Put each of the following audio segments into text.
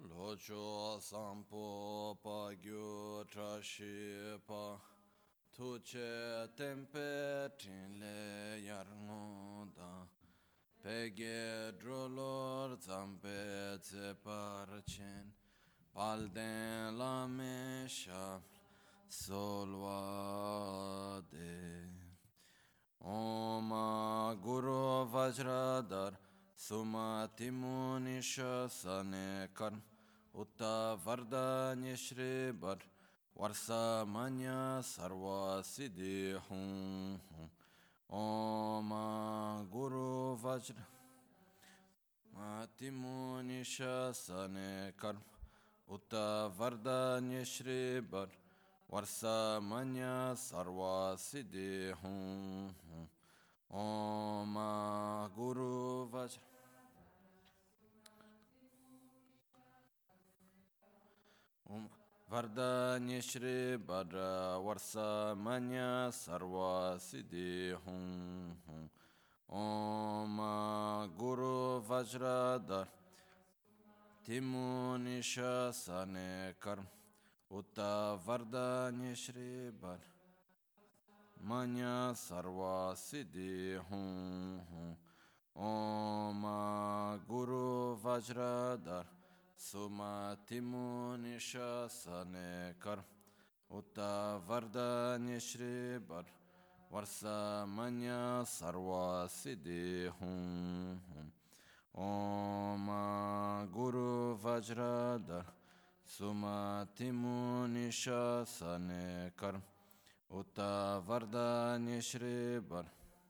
Locho sampo pa gyu trashi pa tuche tempe tinle yarngoda pege drolor zampe tse parchen palden la mesha solvade Om Guru Vajradhar Sumati Munisha Sanekar Utta Vardanya Shribar Varsa Manya Sarva Siddhi Hum Om Guru Vajradhar Sumati Munisha Sanekar Utta Vardanya Shribar Varsa Manya Sarva Siddhi Hum Om Guru Vajra Om Vardanya Shri Bhadra Varsa Manya Sarva Siddhi Hum Om Guru Vajradhar Timunisha Sanekar Utta Vardanya Shri Bhadra Manya Sarva Siddhi Hum Om Guru Vajradhar Sumati Munisha Sanekar Utta Vardanya Shri Bar Varsa Manya Sarva Siddhi Hum Om Guru Vajradhar Sumati Munisha Sanekar Utta Vardanya Shri Bar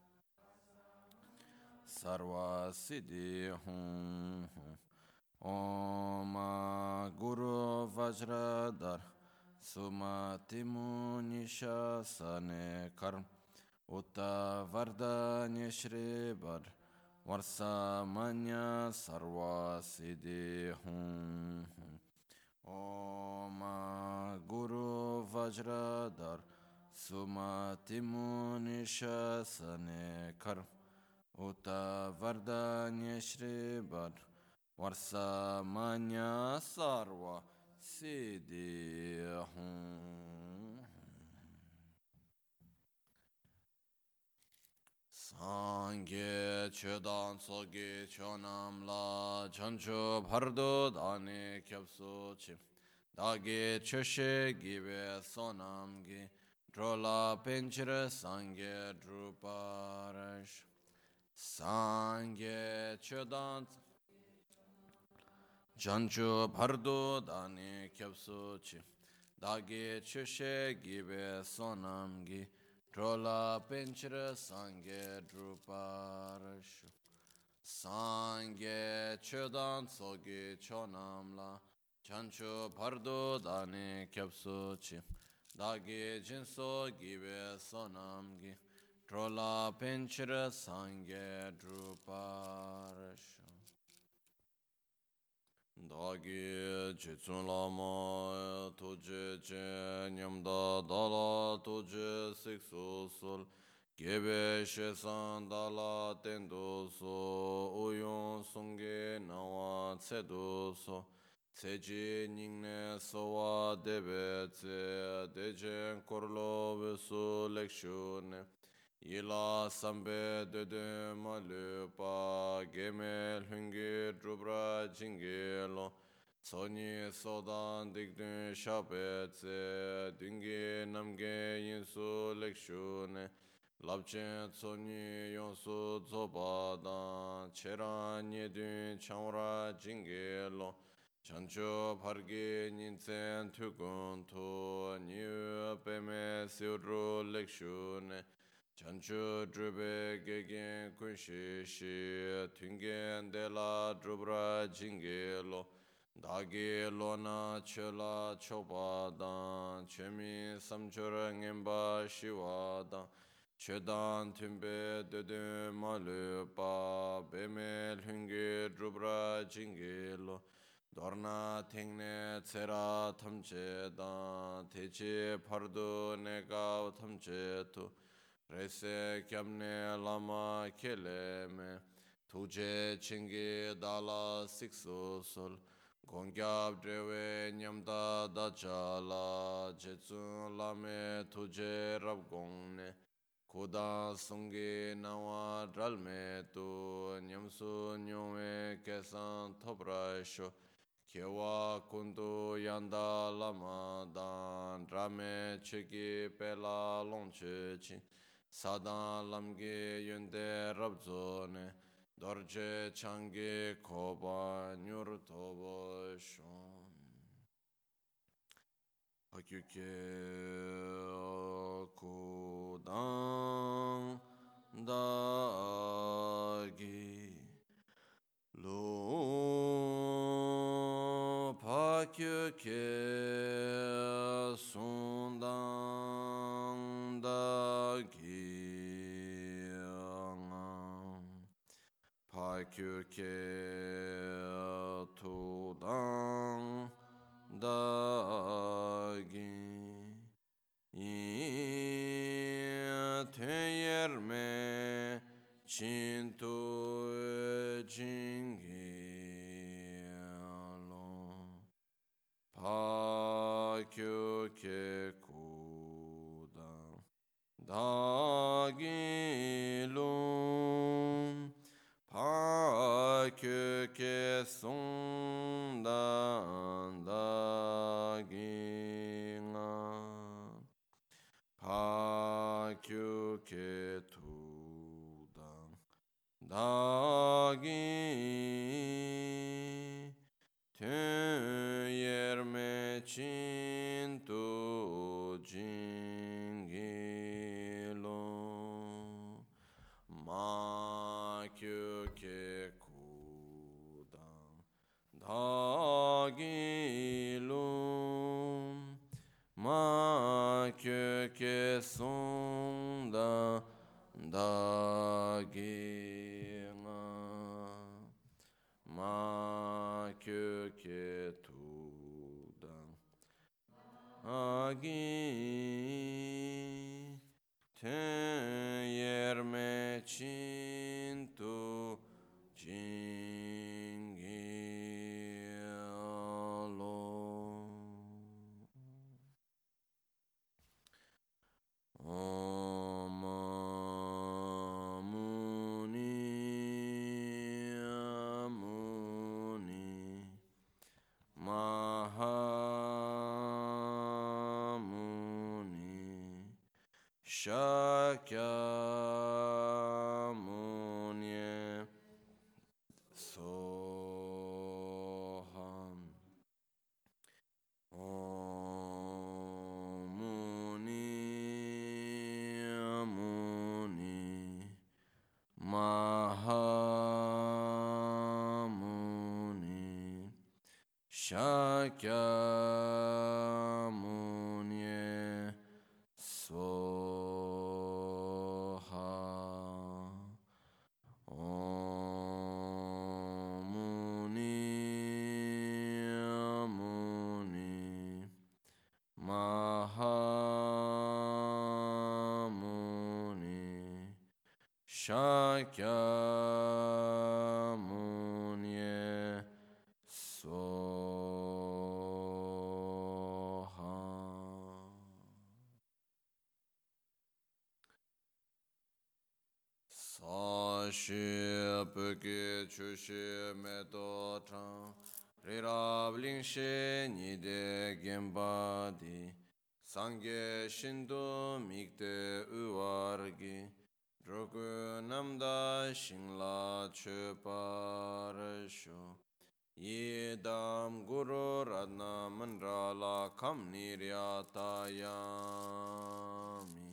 Sarva Siddhi Hum Om Guru Vajradhar Sumati Munisha Sanekar Utta Vardanya Shri Bar Varsa Manya Sarva Siddhi Hum Om Guru Vajradhar Sumati Munisha Sanekar Utta Vardanya Shri Bar Varsa Manya Sarva Siddhi Hum Sangye Chedan Sogi Chonam La Chancho Bhardo Dani Kyapso Chim Dagi Choshe Gibe Sonam Gi Drola Pinchire Sangye Druparash Sangye Chedan Jancho Bhardo Dani Kyapso Chi Dagi Chushe Gibe Sonam Gi Drola Pinchire Sangye Druparashu Sangye Chedan Sogi Chonam La Jancho Bhardo Dani Kyapso Chi Dagi Jinso Gibe Sonam Gi Drola Pinchire Sangye Druparashu Dagi Jitsun Lama Toje Je Nyamda Dala Toje Siksu Sul Gebe Shesan Dala Tendo So Uyon Sunge Nawa Tsedo So Tseji Ningne Sowa Debe Tse Dejen Korlo Vesu Lekshune Yila sambe dede malupa gemel hungi drubra jingelo Soni sodan digdun shabetse dungi namge yinsu lekshune Labchen soni yonsu zobadan cheran yedun chanra jingelo Chancho pargi ninsen tukuntu Niu peme siudru lekshune Chanchu drube gegen kunshi shi tungen de la drubra jingelo dagi lona chela chobadan chemi samchura ngemba shiwadan chedan tumbe dede malupa bemel hungi drubra jingelo dorna tengne tsera thamchedan teche pardu negav thamchetu Rese kyamne lama keleme Tuje chingi dala siksu sol Gongyab drewe nyamda dachala jetsun lame tuje rab gongne Kudan sungi nawa dralme tu nyamsu nyome kesan tobrasho Kyewa kundu yanda lama dan drame chigi pela longche chin Sadan lamgi yunde rabzone Dorje changi koba nyur tobo shon Hakyuke kudan dagi Lo pakyuke sundan dagi Pakyuke tudan dagi Teyerme chintu jingi Pakyuke kudan dagi lum Pakyuke sundan dagi Pakyuke tudan dagi Teyerme chintu jingilo Makyuke kudan dagilum Makyuke sundan dagina Makyuke tudan dagi Teyerme chintu jingilo Om Muni Muni Mahamuni Shakyamuni Soham Om Muni Muni Mahamuni Shakyamuni Soha Om Muni Muni Mahamuni Shakyamuni Soha Sashi Pöke Chushi Meto Chang Rirab Lingshe Nide Gembadi Sangye Shindu Mikde Uwargi Drogu Namda Shingla Chuparasho Yedam Guru Radna Mandrala Kam Niryatayami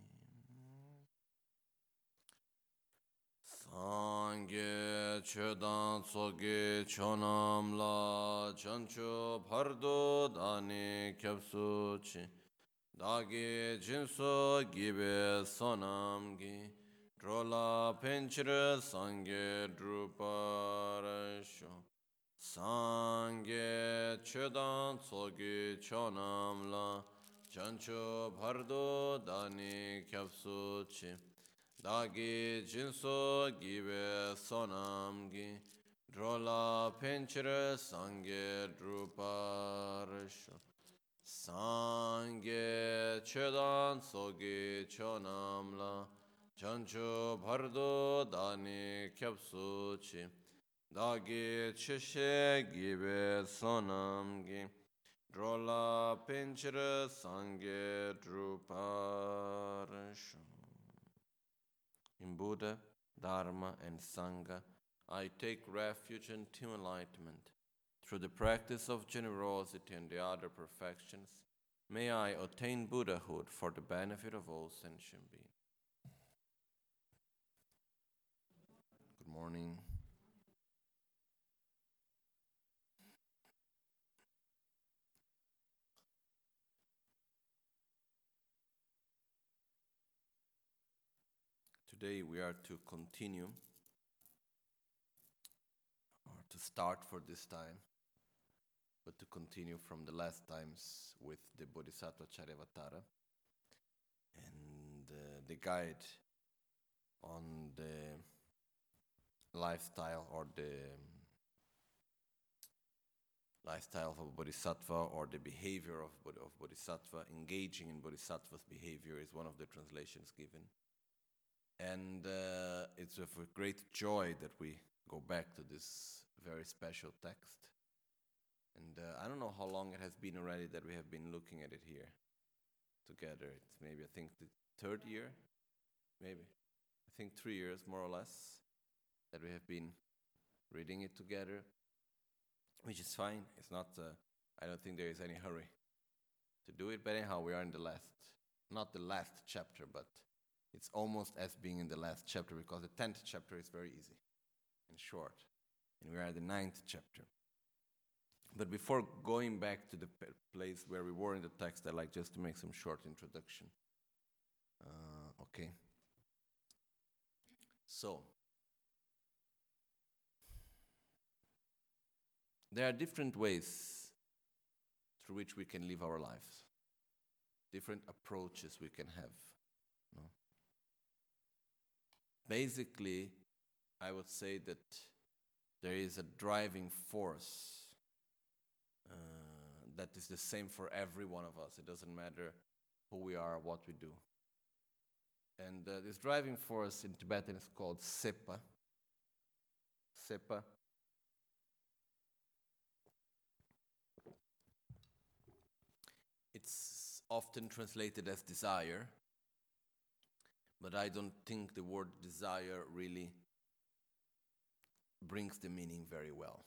Sangye Chodan Tsoge Chonam La Chancho Pardo Dani Kyapsuchi Dagi Jinso Gibe Sonamgi Drola Penchire Sangye Druparasho Sangye Chodan Tsoge Chonam La Chancho Pardo Dani Kyapsuchi Dagi Jinso Gibe Sonamgi drola pencere sangye druparisho. Sangye chedan sogi chonamla. Chancho bardo dani kyapsuchi. Dagi chishe gibe sonamgi. Drola pencere sangye druparisho. In Buddha, Dharma, and Sangha, I take refuge and enlightenment. Through the practice of generosity and the other perfections, may I attain Buddhahood for the benefit of all sentient beings. Good morning. Today we are to continue, or to start for this time, but to continue from the last times with the Bodhisattva Charyavatara and the guide on the lifestyle or the lifestyle of a bodhisattva or the behavior of bodhisattva. Engaging in bodhisattva's behavior is one of the translations given. And it's with great joy that we go back to this very special text. And I don't know how long it has been already that we have been looking at it here together. It's maybe, I think, the third year, maybe. I think 3 years, more or less, that we have been reading it together, which is fine. It's not, I don't think there is any hurry to do it. But anyhow, we are in the last, not the last chapter, but it's almost as being in the last chapter, because the 10th chapter is very easy and short. And we are at the 9th chapter. But before going back to the place where we were in the text, I'd like just to make some short introduction. Okay. So, there are different ways through which we can live our lives, different approaches we can have. No? Basically, I would say that there is a driving force that is the same for every one of us. It doesn't matter who we are, what we do. And this driving force in Tibetan is called Sepa. Sepa. It's often translated as desire, but I don't think the word desire really brings the meaning very well.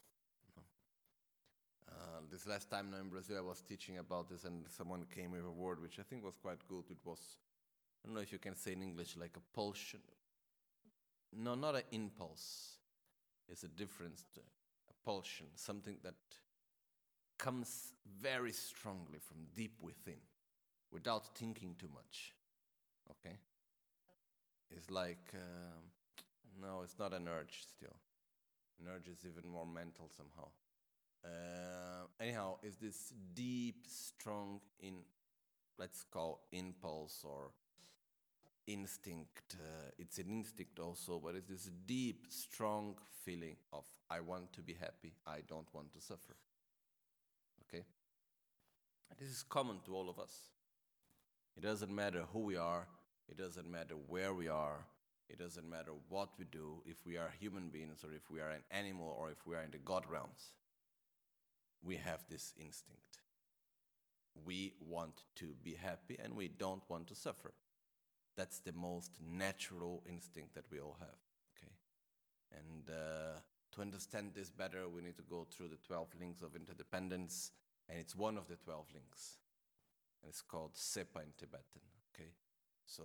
This last time now in Brazil, I was teaching about this, and someone came with a word which I think was quite good. It was, I don't know if you can say in English, like a pulsion. No, not an impulse. It's a difference. A pulsion, something that comes very strongly from deep within, without thinking too much. Okay? It's like, no, it's not an urge still. An urge is even more mental somehow. Anyhow, is this deep, strong, let's call impulse or instinct. It's an instinct also, but it's this deep, strong feeling of, I want to be happy, I don't want to suffer. Okay? This is common to all of us. It doesn't matter who we are, it doesn't matter where we are, it doesn't matter what we do, if we are human beings or if we are an animal or if we are in the God realms. We have this instinct. We want to be happy and we don't want to suffer. That's the most natural instinct that we all have. Okay, and to understand this better, we need to go through the 12 links of interdependence, and it's one of the 12 links, and it's called Sepa in Tibetan. Okay, so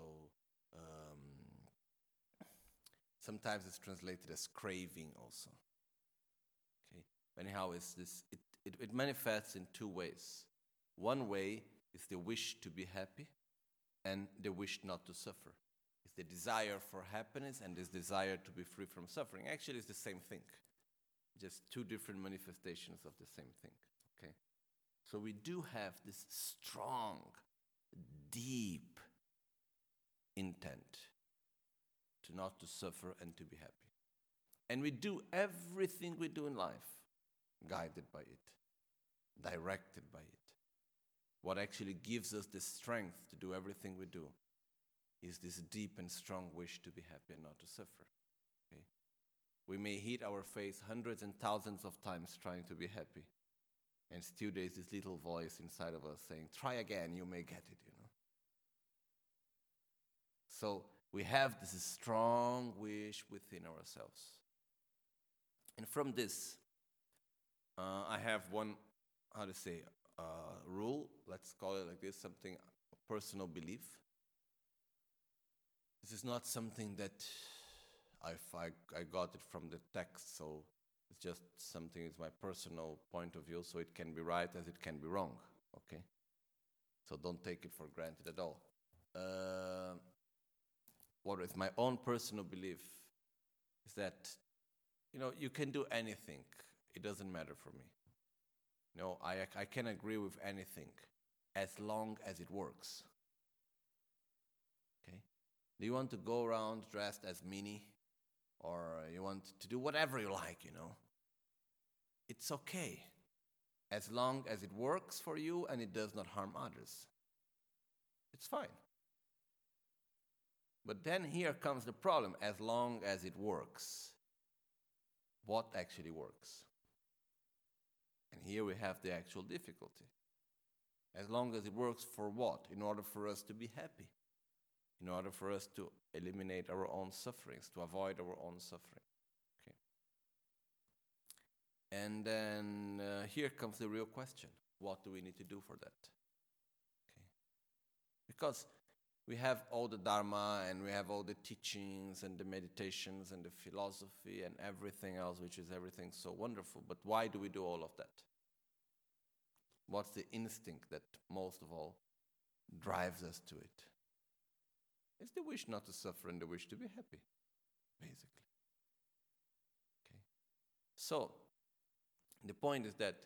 sometimes it's translated as craving also. Okay, anyhow, it's this. It manifests in two ways. One way is the wish to be happy and the wish not to suffer. It's the desire for happiness and this desire to be free from suffering. Actually, it's the same thing. Just two different manifestations of the same thing. Okay? So we do have this strong, deep intent to not to suffer and to be happy. And we do everything we do in life guided by it, directed by it. What actually gives us the strength to do everything we do is this deep and strong wish to be happy and not to suffer. Okay? We may hit our face hundreds and thousands of times trying to be happy, and still there's this little voice inside of us saying, try again, you may get it, So we have this strong wish within ourselves. And from this, I have one, rule, let's call it like this, something, a personal belief. This is not something that I got it from the text, so it's just something, it's my personal point of view, so it can be right as it can be wrong, okay? So don't take it for granted at all. What is my own personal belief is that, you can do anything. It doesn't matter for me. I can agree with anything as long as it works. Okay? Do you want to go around dressed as Minnie? Or you want to do whatever you like, It's okay. As long as it works for you and it does not harm others. It's fine. But then here comes the problem. As long as it works, what actually works? And here we have the actual difficulty. As long as it works for what? In order for us to be happy. In order for us to eliminate our own sufferings, to avoid our own suffering. Okay. And then here comes the real question. What do we need to do for that? Okay. Because we have all the Dharma and we have all the teachings and the meditations and the philosophy and everything else, which is everything so wonderful. But why do we do all of that? What's the instinct that most of all drives us to it? It's the wish not to suffer and the wish to be happy, basically. Okay. So, the point is that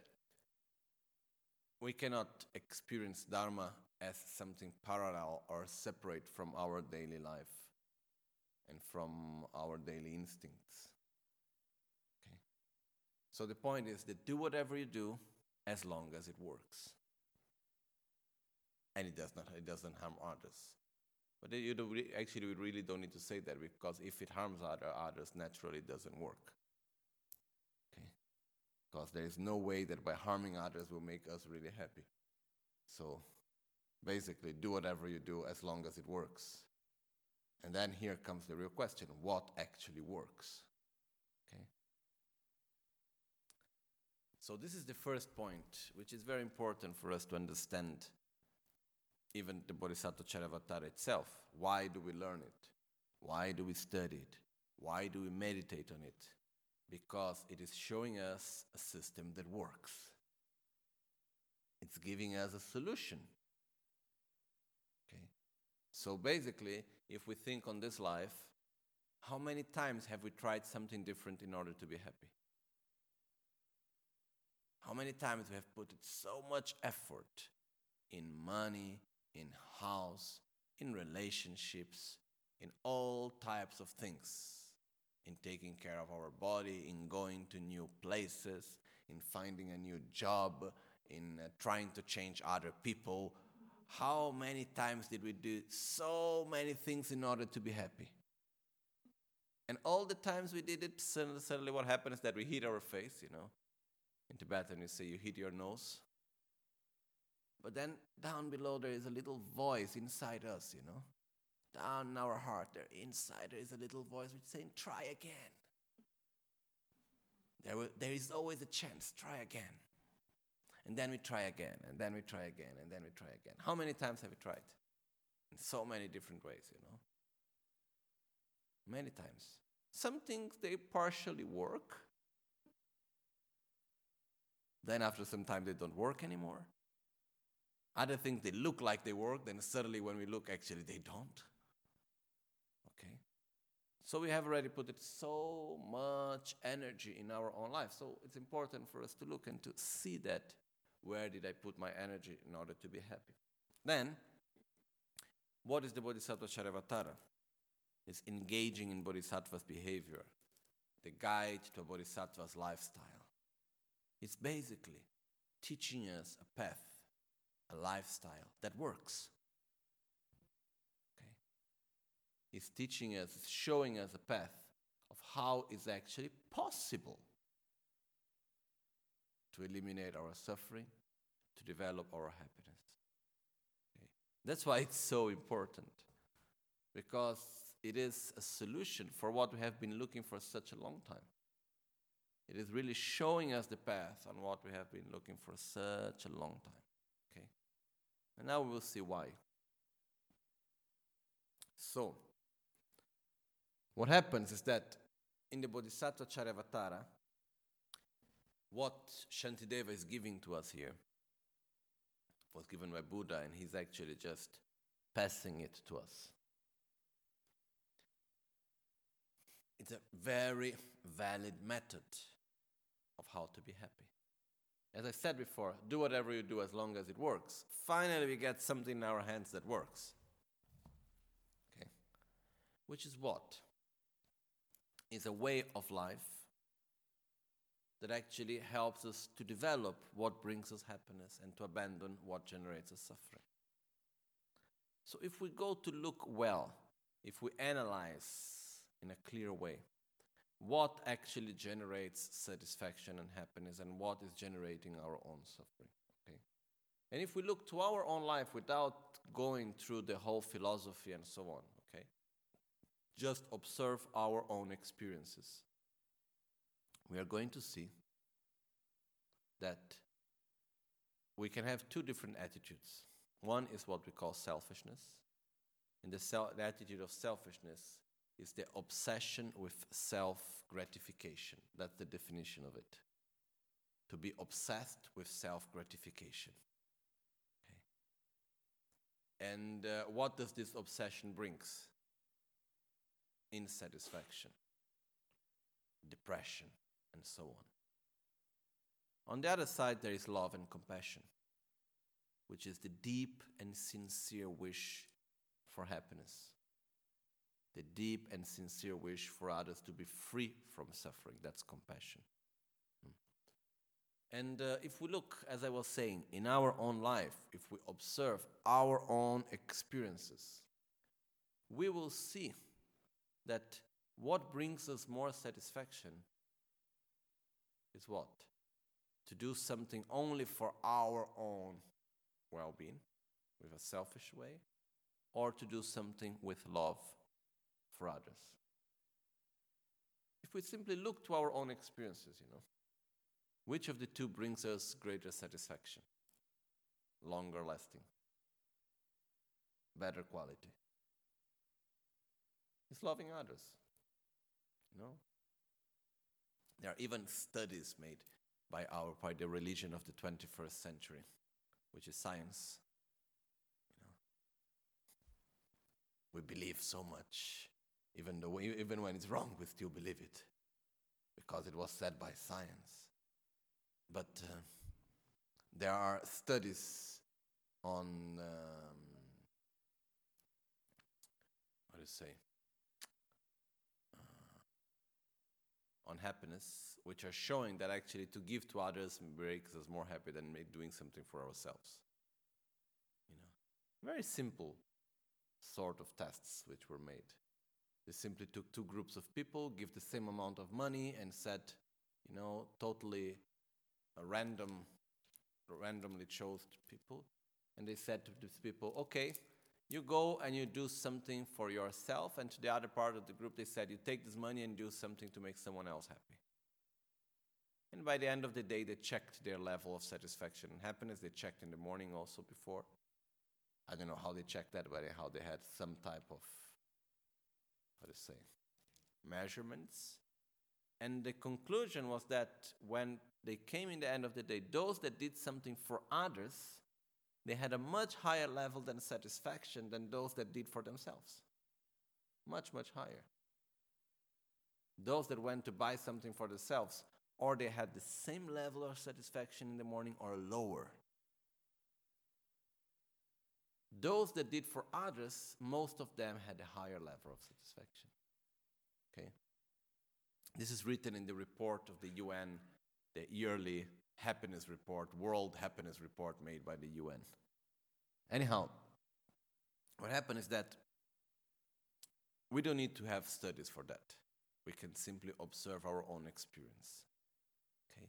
we cannot experience Dharma as something parallel or separate from our daily life and from our daily instincts. Okay. So the point is that do whatever you do as long as it works. And it doesn't harm others. But we really don't need to say that, because if it harms others, naturally it doesn't work. Okay? Because there is no way that by harming others will make us really happy. So basically, do whatever you do as long as it works. And then here comes the real question, what actually works? Okay? So this is the first point, which is very important for us to understand. Even the Bodhisattva Charyavatara itself. Why do we learn it? Why do we study it? Why do we meditate on it? Because it is showing us a system that works. It's giving us a solution. Okay? So basically, if we think on this life, how many times have we tried something different in order to be happy? How many times we have put so much effort in money, in house, in relationships, in all types of things, in taking care of our body, in going to new places, in finding a new job, in trying to change other people. How many times did we do so many things in order to be happy? And all the times we did it, suddenly what happens is that we hit our face, In Tibetan you say you hit your nose. But then down below there is a little voice inside us, Down in our heart, inside there is a little voice which is saying, try again. There is always a chance, try again. And then we try again, and then we try again, and then we try again. How many times have we tried? In so many different ways, Many times. Some things, they partially work. Then after some time, they don't work anymore. Other things, they look like they work, then suddenly when we look, actually they don't. Okay? So we have already put so much energy in our own life. So it's important for us to look and to see that, where did I put my energy in order to be happy? Then, what is the Bodhisattva Charyavatara? It's engaging in Bodhisattva's behavior. the guide to a bodhisattva's lifestyle. It's basically teaching us a path, a lifestyle that works. Okay? It's teaching us, it's showing us a path of how it's actually possible to eliminate our suffering, to develop our happiness. Okay? That's why it's so important, because it is a solution for what we have been looking for such a long time. It is really showing us the path on what we have been looking for such a long time. Okay? And now we will see why. So, what happens is that in the Bodhisattva Charyavatara, what Shantideva is giving to us here was given by Buddha, and he's actually just passing it to us. It's a very valid method of how to be happy. As I said before, do whatever you do as long as it works. Finally, we get something in our hands that works. Okay? Which is what? Is a way of life that actually helps us to develop what brings us happiness and to abandon what generates us suffering. So if we go to look well, if we analyze in a clear way what actually generates satisfaction and happiness and what is generating our own suffering. Okay? And if we look to our own life without going through the whole philosophy and so on, okay? Just observe our own experiences. We are going to see that we can have two different attitudes. One is what we call selfishness. And the attitude of selfishness is the obsession with self-gratification. That's the definition of it. To be obsessed with self-gratification. Okay. And what does this obsession brings? Insatisfaction, depression, and so on. On the other side, there is love and compassion, which is the deep and sincere wish for happiness. The deep and sincere wish for others to be free from suffering. That's compassion. And if we look, as I was saying, in our own life, if we observe our own experiences, we will see that what brings us more satisfaction is what? To do something only for our own well-being, with a selfish way, or to do something with love for others. If we simply look to our own experiences, which of the two brings us greater satisfaction? Longer lasting, better quality. It's loving others. There are even studies made by the religion of the 21st century, which is science. We believe so much, even when it's wrong, we still believe it, because it was said by science. But there are studies on on happiness, which are showing that actually to give to others makes us more happy than doing something for ourselves. Very simple sort of tests which were made. They simply took two groups of people, give the same amount of money, and said, totally randomly chose people, and they said to these people, okay, you go and you do something for yourself, and to the other part of the group they said, you take this money and do something to make someone else happy. And by the end of the day, they checked their level of satisfaction and happiness. They checked in the morning also before. I don't know how they checked that, but how they had some type of, measurements. And the conclusion was that when they came in the end of the day, those that did something for others, they had a much higher level than satisfaction than those that did for themselves. Much, much higher. Those that went to buy something for themselves, or they had the same level of satisfaction in the morning or lower. Those that did for others, most of them had a higher level of satisfaction. Okay? This is written in the report of the UN, the yearly happiness report, World Happiness Report made by the UN. Anyhow, what happened is that we don't need to have studies for that. We can simply observe our own experience. Okay?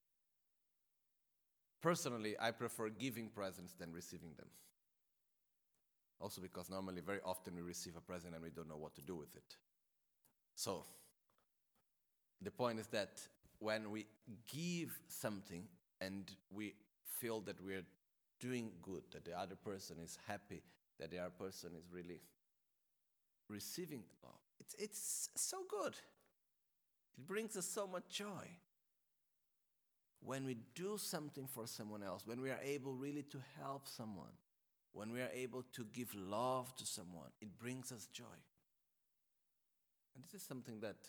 Personally, I prefer giving presents than receiving them. Also because normally, very often we receive a present and we don't know what to do with it. So, the point is that when we give something and we feel that we're doing good, that the other person is happy, that the other person is really receiving love, it's so good. It brings us so much joy. When we do something for someone else, when we are able really to help someone, when we are able to give love to someone, it brings us joy. And this is something that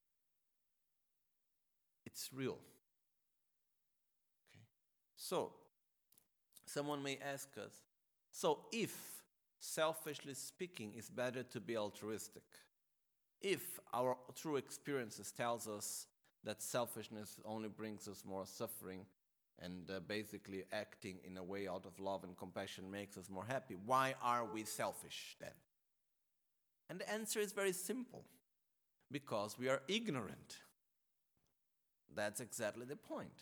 it's real. Okay. So, someone may ask us, so if, selfishly speaking, it's better to be altruistic, if our true experiences tells us that selfishness only brings us more suffering and basically acting in a way out of love and compassion makes us more happy, why are we selfish then? And the answer is very simple. Because we are ignorant. That's exactly the point.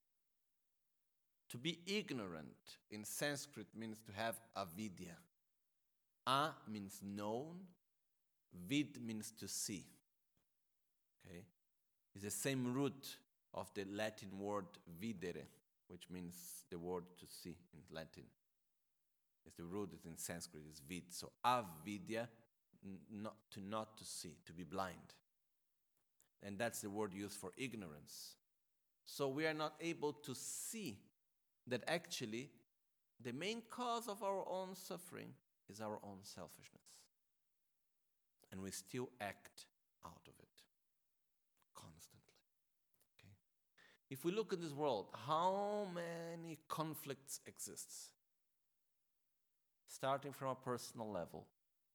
To be ignorant in Sanskrit means to have avidya. A means known, vid means to see. Okay? It's the same root of the Latin word videre, which means the word to see in Latin. It's the root is in Sanskrit, is vid. So avidya, not to see, to be blind. And that's the word used for ignorance. So we are not able to see that actually the main cause of our own suffering is our own selfishness. And we still act out of it constantly. Okay? If we look at this world, how many conflicts exist? Starting from a personal level,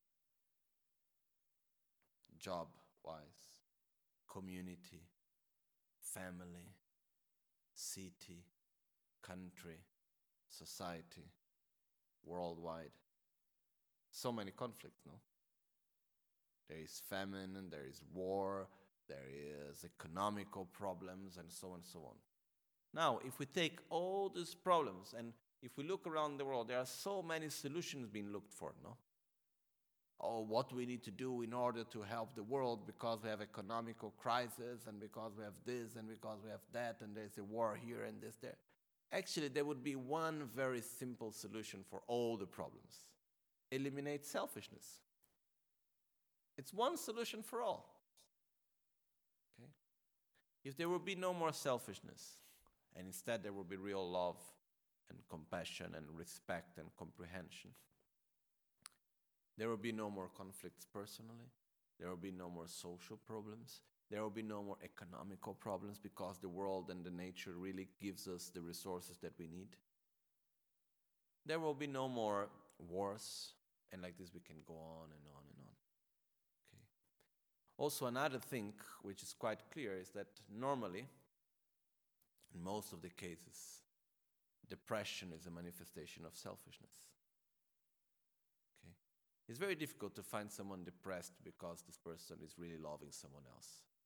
job-wise, community, family, city, country, society, worldwide. So many conflicts, no? There is famine, and there is war, there is economical problems, and so on and so on. Now, if we take all these problems, and if we look around the world, there are so many solutions being looked for, no? Oh, what we need to do in order to help the world because we have economical crisis, and because we have this, and because we have that, and there's a war here and this there. Actually, there would be one very simple solution for all the problems. Eliminate selfishness. It's one solution for all. Okay? If there would be no more selfishness, and instead there would be real love and compassion and respect and comprehension, there will be no more conflicts personally. There will be no more social problems. There will be no more economical problems because the world and the nature really gives us the resources that we need. There will be no more wars, and like this we can go on and on and on. Okay. Also, another thing which is quite clear is that normally, in most of the cases, depression is a manifestation of selfishness. It's very difficult to find someone depressed because this person is really loving someone else.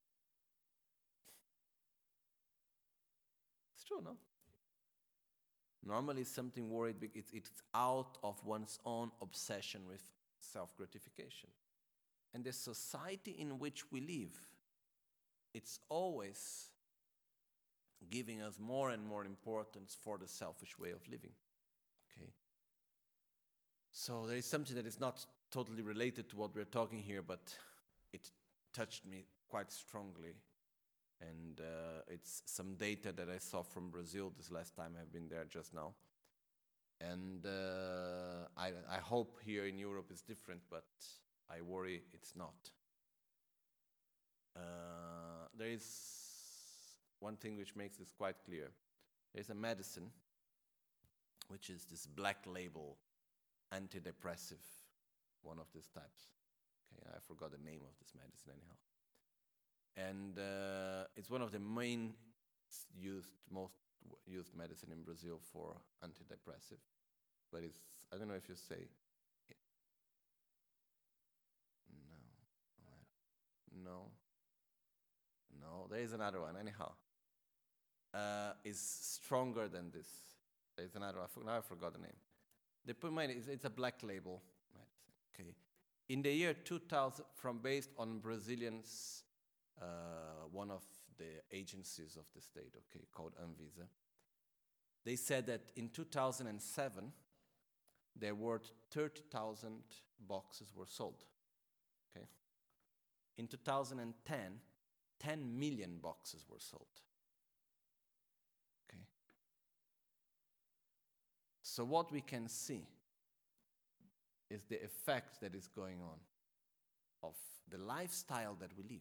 It's true, no? Normally something worried, it's out of one's own obsession with self-gratification. And the society in which we live, it's always giving us more and more importance for the selfish way of living. Okay? So there is something that is not totally related to what we're talking here, but it touched me quite strongly. And it's some data that I saw from Brazil this last time I've been there just now. And I hope here in Europe it's different, but I worry it's not. There is one thing which makes this quite clear. There's a medicine, which is this black label antidepressive, one of these types. Okay, I forgot the name of this medicine anyhow. And it's one of the most used medicine in Brazil for antidepressive. But it's, I don't know if you say, no, there is another one, anyhow. Is stronger than this. There is another one, now I forgot the name. The point is, it's a black label medicine, okay? In the year 2000, based on Brazilians, one of the agencies of the state, okay, called Anvisa, they said that in 2007, there were 30,000 boxes were sold, okay? In 2010, 10 million boxes were sold, okay? So what we can see is the effect that is going on of the lifestyle that we live.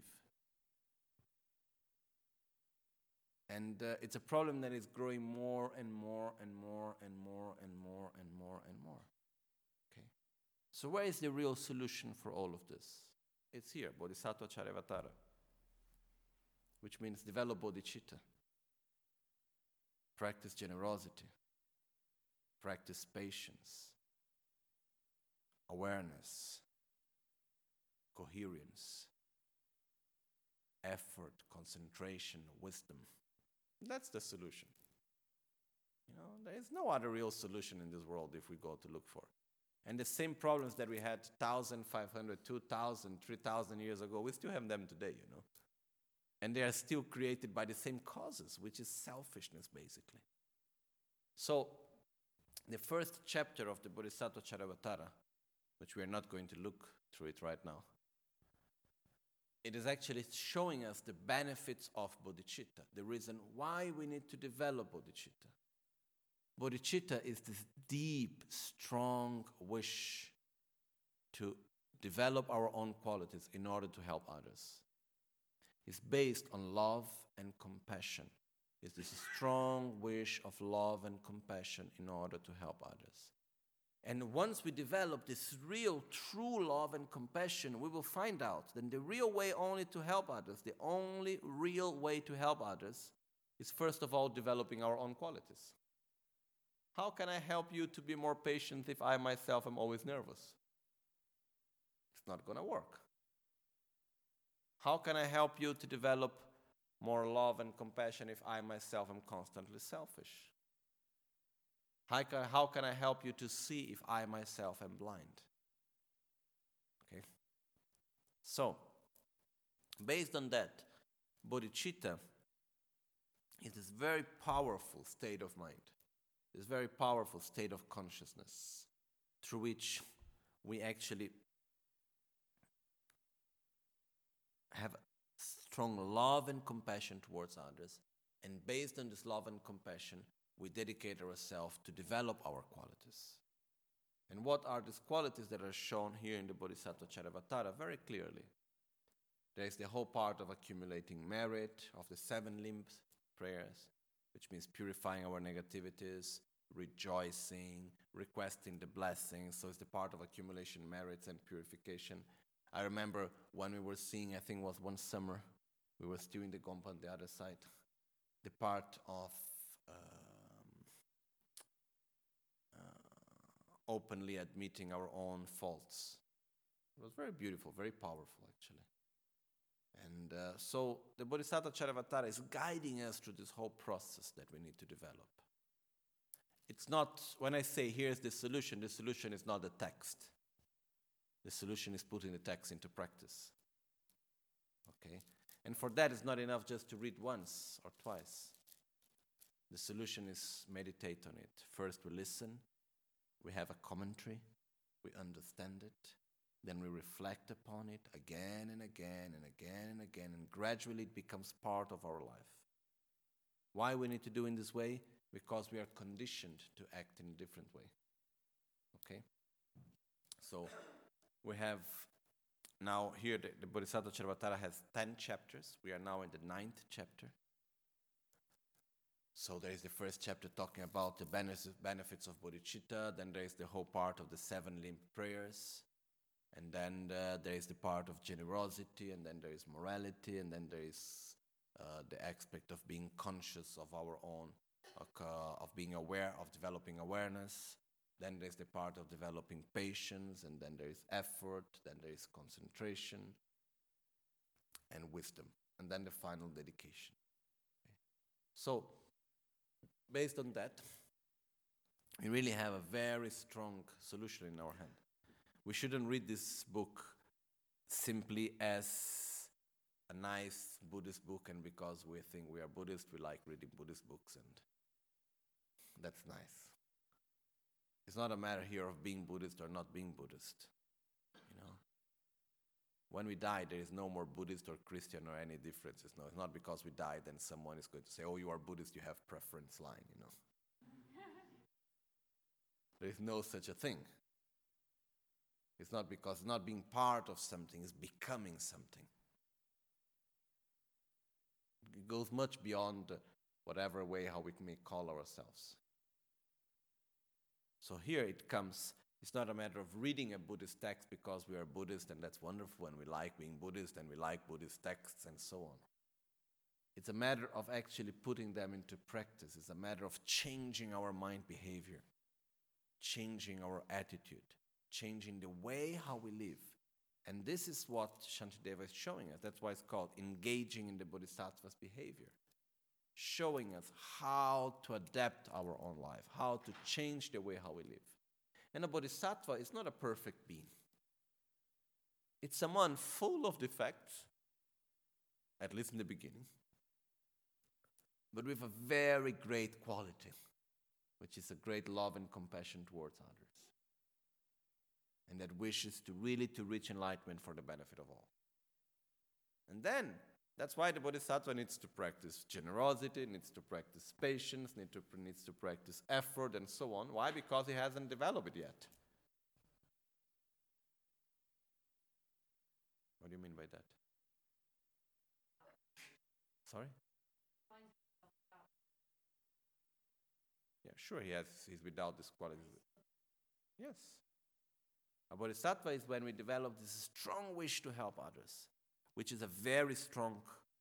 And it's a problem that is growing more and more and more and more and more and more and more. Okay. So where is the real solution for all of this? It's here, Bodhisattva Charyavatara, which means develop bodhicitta, practice generosity, practice patience, awareness, coherence, effort, concentration, wisdom. That's the solution. You know, there is no other real solution in this world if we go to look for. And the same problems that we had 1,500, 2,000, 3,000 years ago, we still have them today, you know. And they are still created by the same causes, which is selfishness, basically. So, the first chapter of the Bodhisattva Charyavatara, which we are not going to look through it right now, it is actually showing us the benefits of bodhicitta, the reason why we need to develop bodhicitta. Bodhicitta is this deep, strong wish to develop our own qualities in order to help others. It's based on love and compassion. It's this strong wish of love and compassion in order to help others. And once we develop this real, true love and compassion, we will find out that the real way only to help others, the only real way to help others, is first of all developing our own qualities. How can I help you to be more patient if I myself am always nervous? It's not going to work. How can I help you to develop more love and compassion if I myself am constantly selfish? How can I help you to see if I myself am blind? Okay. So, based on that, bodhicitta is this very powerful state of mind, this very powerful state of consciousness through which we actually have strong love and compassion towards others. And based on this love and compassion, we dedicate ourselves to develop our qualities. And what are these qualities that are shown here in the Bodhisattva Charyavatara? Very clearly. There is the whole part of accumulating merit, of the 7 limbs prayers, which means purifying our negativities, rejoicing, requesting the blessings. So it's the part of accumulation merits and purification. I remember when we were seeing, I think it was one summer, we were still in the Gompa on the other side, the part of openly admitting our own faults. It was very beautiful, very powerful actually. And so the Bodhisattva Charyavatara is guiding us through this whole process that we need to develop. It's not, when I say here's the solution is not the text. The solution is putting the text into practice. Okay? And for that, it's not enough just to read once or twice. The solution is meditate on it. First we listen, we have a commentary, we understand it, then we reflect upon it again and again and again and again, and gradually it becomes part of our life. Why we need to do in this way? Because we are conditioned to act in a different way. Okay? So we have now here the Bodhisattva Charyavatara has 10 chapters. We are now in the 9th chapter. So there is the first chapter talking about the benefits of bodhicitta. Then there is the whole part of the 7 limb prayers. And then there is the part of generosity, and then there is morality, and then there is the aspect of being conscious of our own, of being aware, of developing awareness. Then there's the part of developing patience, and then there is effort, then there is concentration and wisdom, and then the final dedication. Okay. So, based on that, we really have a very strong solution in our hand. We shouldn't read this book simply as a nice Buddhist book, and because we think we are Buddhist, we like reading Buddhist books, and that's nice. It's not a matter here of being Buddhist or not being Buddhist. You know, when we die, there is no more Buddhist or Christian or any differences. No, it's not because we died then someone is going to say, "Oh, you are Buddhist, you have preference line." You know, there is no such a thing. It's not because not being part of something is becoming something. It goes much beyond whatever way how we may call ourselves. So here it comes, it's not a matter of reading a Buddhist text because we are Buddhist and that's wonderful and we like being Buddhist and we like Buddhist texts and so on. It's a matter of actually putting them into practice. It's a matter of changing our mind behavior, changing our attitude, changing the way how we live. And this is what Shantideva is showing us. That's why it's called engaging in the Bodhisattva's behavior. Showing us how to adapt our own life, how to change the way how we live. And a Bodhisattva is not a perfect being. It's someone full of defects, at least in the beginning, but with a very great quality, which is a great love and compassion towards others. And that wishes to really to reach enlightenment for the benefit of all. And then, that's why the Bodhisattva needs to practice generosity, needs to practice patience, needs to practice effort, and so on. Why? Because he hasn't developed it yet. What do you mean by that? Sorry? Yeah, sure, he's without this quality. Yes. A Bodhisattva is when we develop this strong wish to help others, which is a very strong,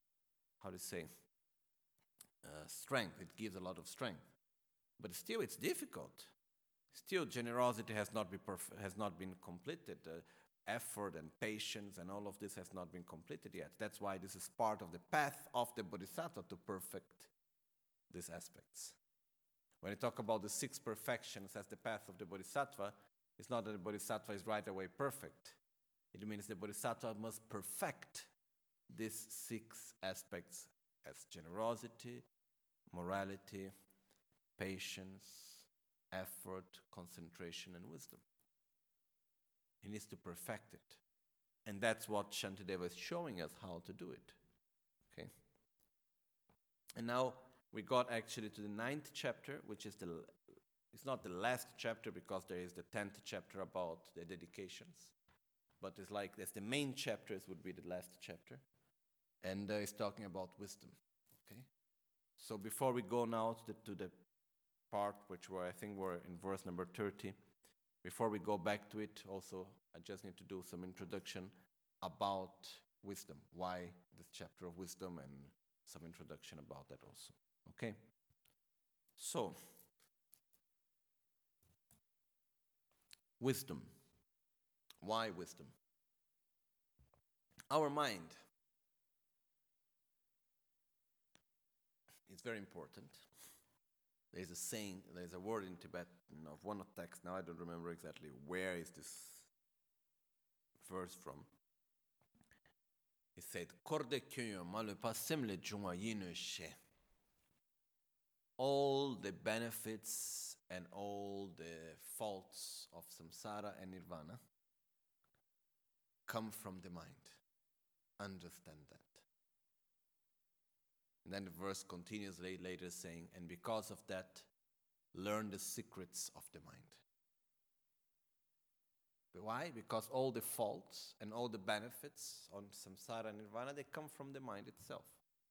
strength. It gives a lot of strength. But still, it's difficult. Still, generosity has not been completed. Effort and patience and all of this has not been completed yet. That's why this is part of the path of the Bodhisattva to perfect these aspects. When we talk about the 6 perfections as the path of the Bodhisattva, it's not that the Bodhisattva is right away perfect. It means the Bodhisattva must perfect these 6 aspects as generosity, morality, patience, effort, concentration, and wisdom. He needs to perfect it. And that's what Shantideva is showing us how to do it. Okay? And now we got actually to the 9th chapter, which is it's not the last chapter because there is the 10th chapter about the dedications. But it's like that's the main chapters would be the last chapter. And it's talking about wisdom. Okay? So before we go now to the part which I think we're in verse number 30, before we go back to it, also I just need to do some introduction about wisdom. Why this chapter of wisdom, and some introduction about that also. Okay? So, wisdom. Why wisdom? Our mind is very important. There's a saying, there's a word in Tibetan of one of text, now I don't remember exactly where is this verse from. It said, Korde kyo malu pasimle junga yinu she. All the benefits and all the faults of samsara and nirvana come from the mind. Understand that. And then the verse continues later saying, and because of that, learn the secrets of the mind. But why? Because all the faults and all the benefits on samsara and nirvana, they come from the mind itself.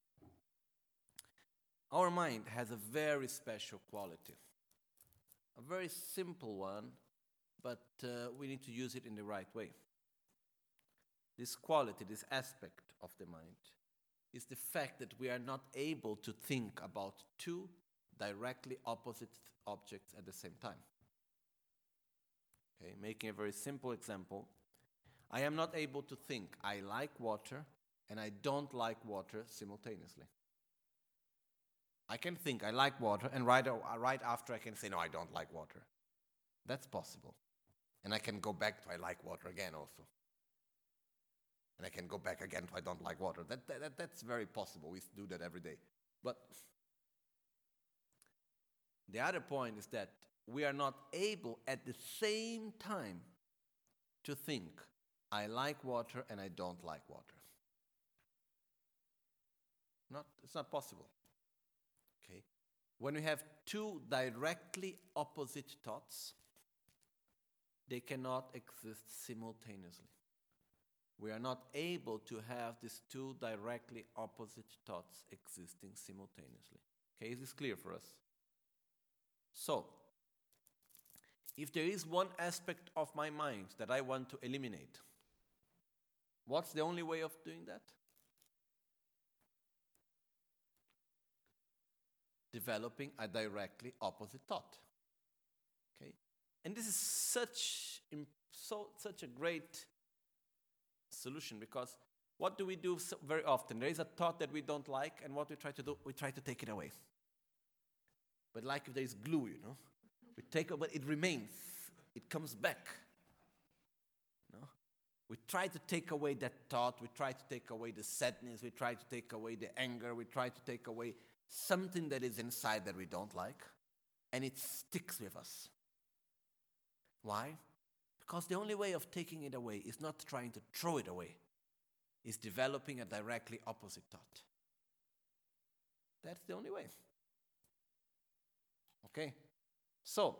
Our mind has a very special quality. A very simple one, but we need to use it in the right way. this quality, this aspect of the mind, is the fact that we are not able to think about two directly opposite objects at the same time. Okay, making a very simple example, I am not able to think I like water and I don't like water simultaneously. I can think I like water and right after I can say no, I don't like water. That's possible. And I can go back to I like water again also. And I can go back again to I don't like water. That's very possible. We do that every day. But the other point is that we are not able at the same time to think I like water and I don't like water. It's not possible. Okay? When we have two directly opposite thoughts, they cannot exist simultaneously. We are not able to have these two directly opposite thoughts existing simultaneously. Okay, is this clear for us? So, if there is one aspect of my mind that I want to eliminate, what's the only way of doing that? Developing a directly opposite thought. Okay? And this is such a great solution, because what do we do very often? There is a thought that we don't like, and what we try to do, we try to take it away. But like if there is glue, we take it, but it remains. It comes back. We try to take away that thought. We try to take away the sadness. We try to take away the anger. We try to take away something that is inside that we don't like, and it sticks with us. Why? Because the only way of taking it away is not trying to throw it away. It's developing a directly opposite thought. That's the only way. Okay? So,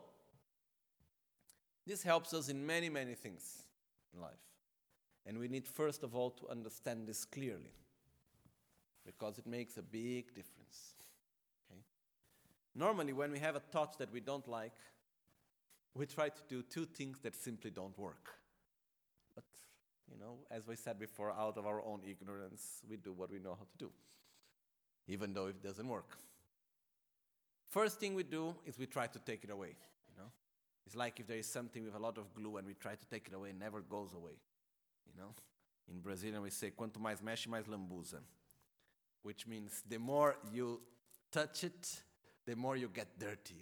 this helps us in many, many things in life. And we need, first of all, to understand this clearly, because it makes a big difference. Okay? Normally, when we have a thought that we don't like, we try to do two things that simply don't work. But, as we said before, out of our own ignorance, we do what we know how to do, even though it doesn't work. First thing we do is we try to take it away. It's like if there is something with a lot of glue and we try to take it away, it never goes away. In Brazilian we say, quanto mais mexe, mais lambuza, which means the more you touch it, the more you get dirty,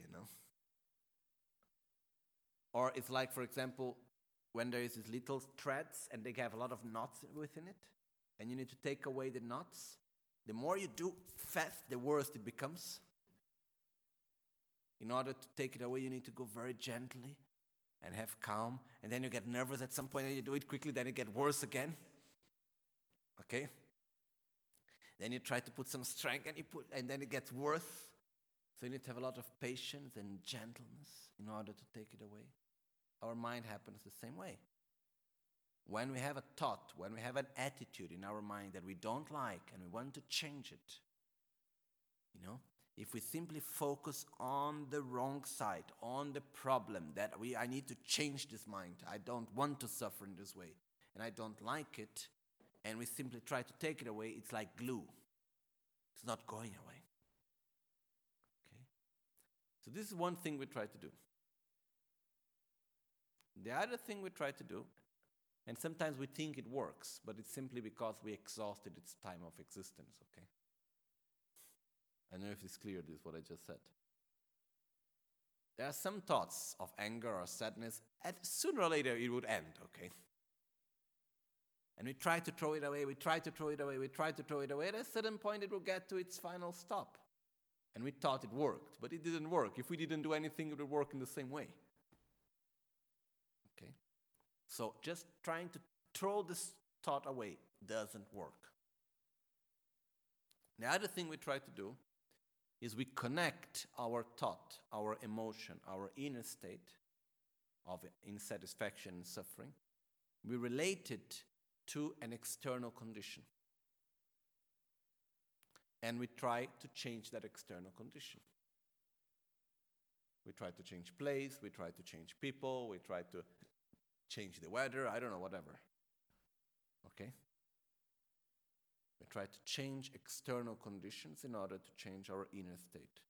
Or it's like, for example, when there is these little threads and they have a lot of knots within it, and you need to take away the knots, the more you do fast, the worse it becomes. In order to take it away, you need to go very gently and have calm, and then you get nervous at some point and you do it quickly, then it gets worse again. Okay? Then you try to put some strength and then it gets worse. So you need to have a lot of patience and gentleness in order to take it away. Our mind happens the same way. When we have a thought, when we have an attitude in our mind that we don't like and we want to change it, if we simply focus on the wrong side, on the problem, that I need to change this mind, I don't want to suffer in this way, and I don't like it, and we simply try to take it away, it's like glue. It's not going away. Okay? So this is one thing we try to do. The other thing we try to do, and sometimes we think it works, but it's simply because we exhausted its time of existence, okay? I don't know if it's clear, this what I just said. There are some thoughts of anger or sadness, and sooner or later it would end, okay? And we try to throw it away, we try to throw it away, we try to throw it away. At a certain point it will get to its final stop. And we thought it worked, but it didn't work. If we didn't do anything, it would work in the same way. Okay? So just trying to throw this thought away doesn't work. The other thing we try to do is we connect our thought, our emotion, our inner state of insatisfaction and suffering. We relate it to an external condition. And we try to change that external condition. We try to change place, we try to change people, we try to change the weather, I don't know, whatever. Okay? We try to change external conditions in order to change our inner state.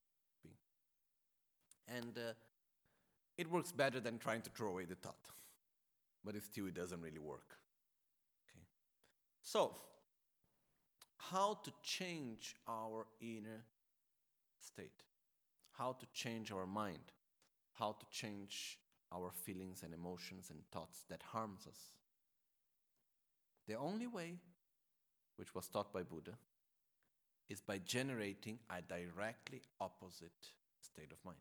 And it works better than trying to throw away the thought. But it doesn't really work. Okay? So, how to change our inner state? How to change our mind? How to change our feelings and emotions and thoughts that harms us? The only way, which was taught by Buddha, is by generating a directly opposite state of mind.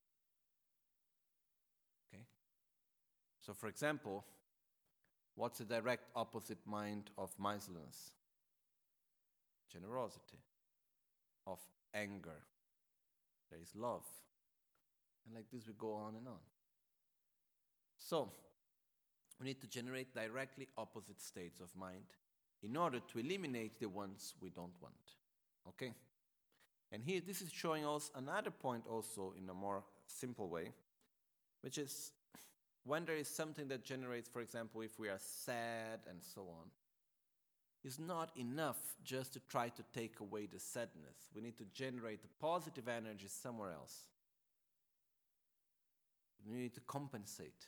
Okay? So, for example, what's the direct opposite mind of miserliness? Generosity. Of anger. There is love. And like this we go on and on. So, we need to generate directly opposite states of mind in order to eliminate the ones we don't want. Okay? And here, this is showing us another point also in a more simple way, which is when there is something that generates, for example, if we are sad and so on, it's not enough just to try to take away the sadness. We need to generate the positive energy somewhere else. We need to compensate.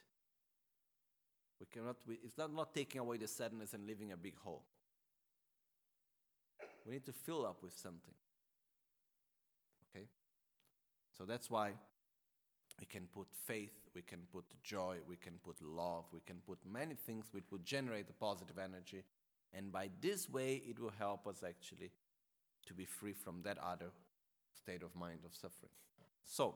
It's not taking away the sadness and leaving a big hole. We need to fill up with something. Okay? So that's why we can put faith, we can put joy, we can put love, we can put many things which would generate a positive energy. And by this way, it will help us actually to be free from that other state of mind of suffering. So,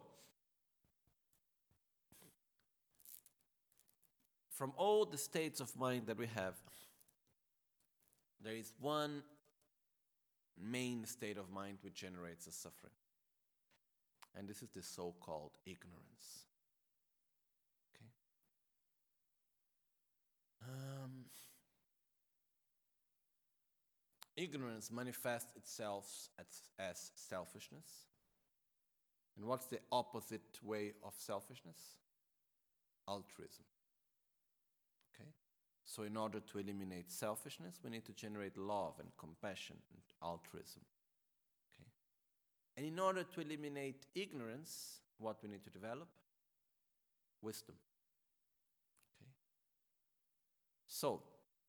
from all the states of mind that we have, there is one main state of mind which generates a suffering. And this is the so-called ignorance. Okay? Ignorance manifests itself as selfishness. And what's the opposite way of selfishness? Altruism. Okay? So in order to eliminate selfishness, we need to generate love and compassion and altruism. Okay? And in order to eliminate ignorance, what we need to develop? Wisdom. Okay? So,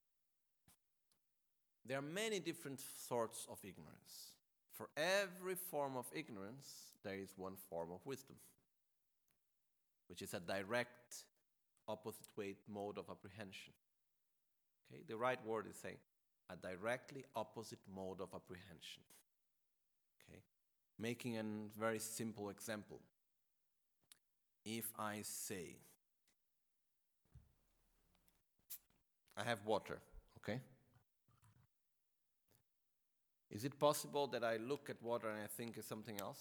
there are many different sorts of ignorance. For every form of ignorance, there is one form of wisdom, which is a direct opposite way mode of apprehension. Okay? The right word is saying a directly opposite mode of apprehension. Okay? Making a very simple example. If I say, I have water, okay? Is it possible that I look at water and I think it's something else?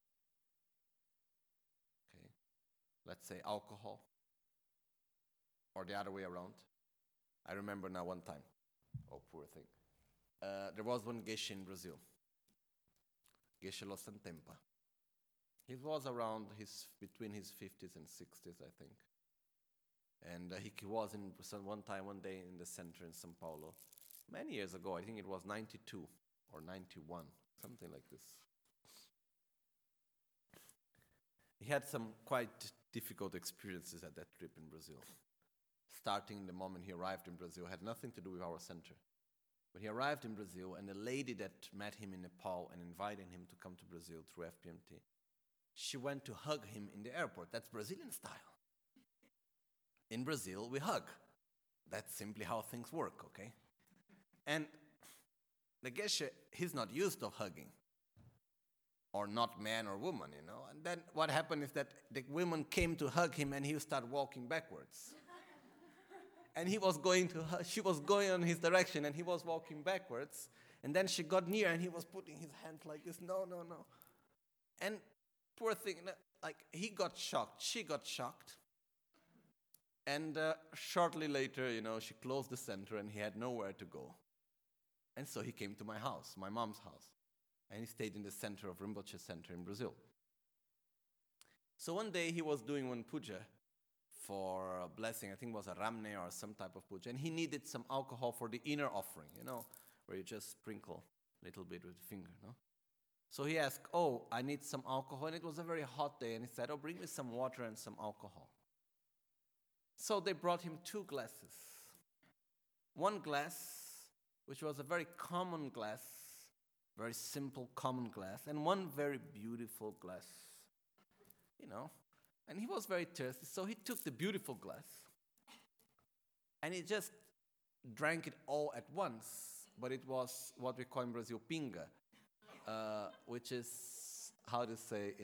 Okay. Let's say alcohol. Or the other way around. I remember now one time. Oh, poor thing. There was one Geshe in Brazil. Geshe Lo Santempa. He was around between his 50s and 60s, I think. And he was one day in the center in São Paulo. Many years ago, I think it was 92. Or 91, something like this. He had some quite difficult experiences at that trip in Brazil. Starting the moment he arrived in Brazil, had nothing to do with our center. But he arrived in Brazil, and the lady that met him in Nepal and invited him to come to Brazil through FPMT, she went to hug him in the airport. That's Brazilian style. In Brazil, we hug. That's simply how things work, okay? And the Geshe, he's not used to hugging. Or not man or woman, you know. And then what happened is that the woman came to hug him and he started walking backwards. And she was going on his direction and he was walking backwards. And then she got near and he was putting his hand like this, no. And poor thing, like he got shocked, she got shocked. And shortly later, you know, she closed the center and he had nowhere to go. And so he came to my house, my mom's house. And he stayed in the center of Rinpoche Center in Brazil. So one day he was doing one puja for a blessing. I think it was a ramne or some type of puja. And he needed some alcohol for the inner offering, where you just sprinkle a little bit with the finger, no? So he asked, oh, I need some alcohol. And it was a very hot day. And he said, oh, bring me some water and some alcohol. So they brought him 2 glasses. One glass, which was a very common glass, very simple common glass, and one very beautiful glass, And he was very thirsty, so he took the beautiful glass and he just drank it all at once. But it was what we call in Brazil pinga, which is, how to say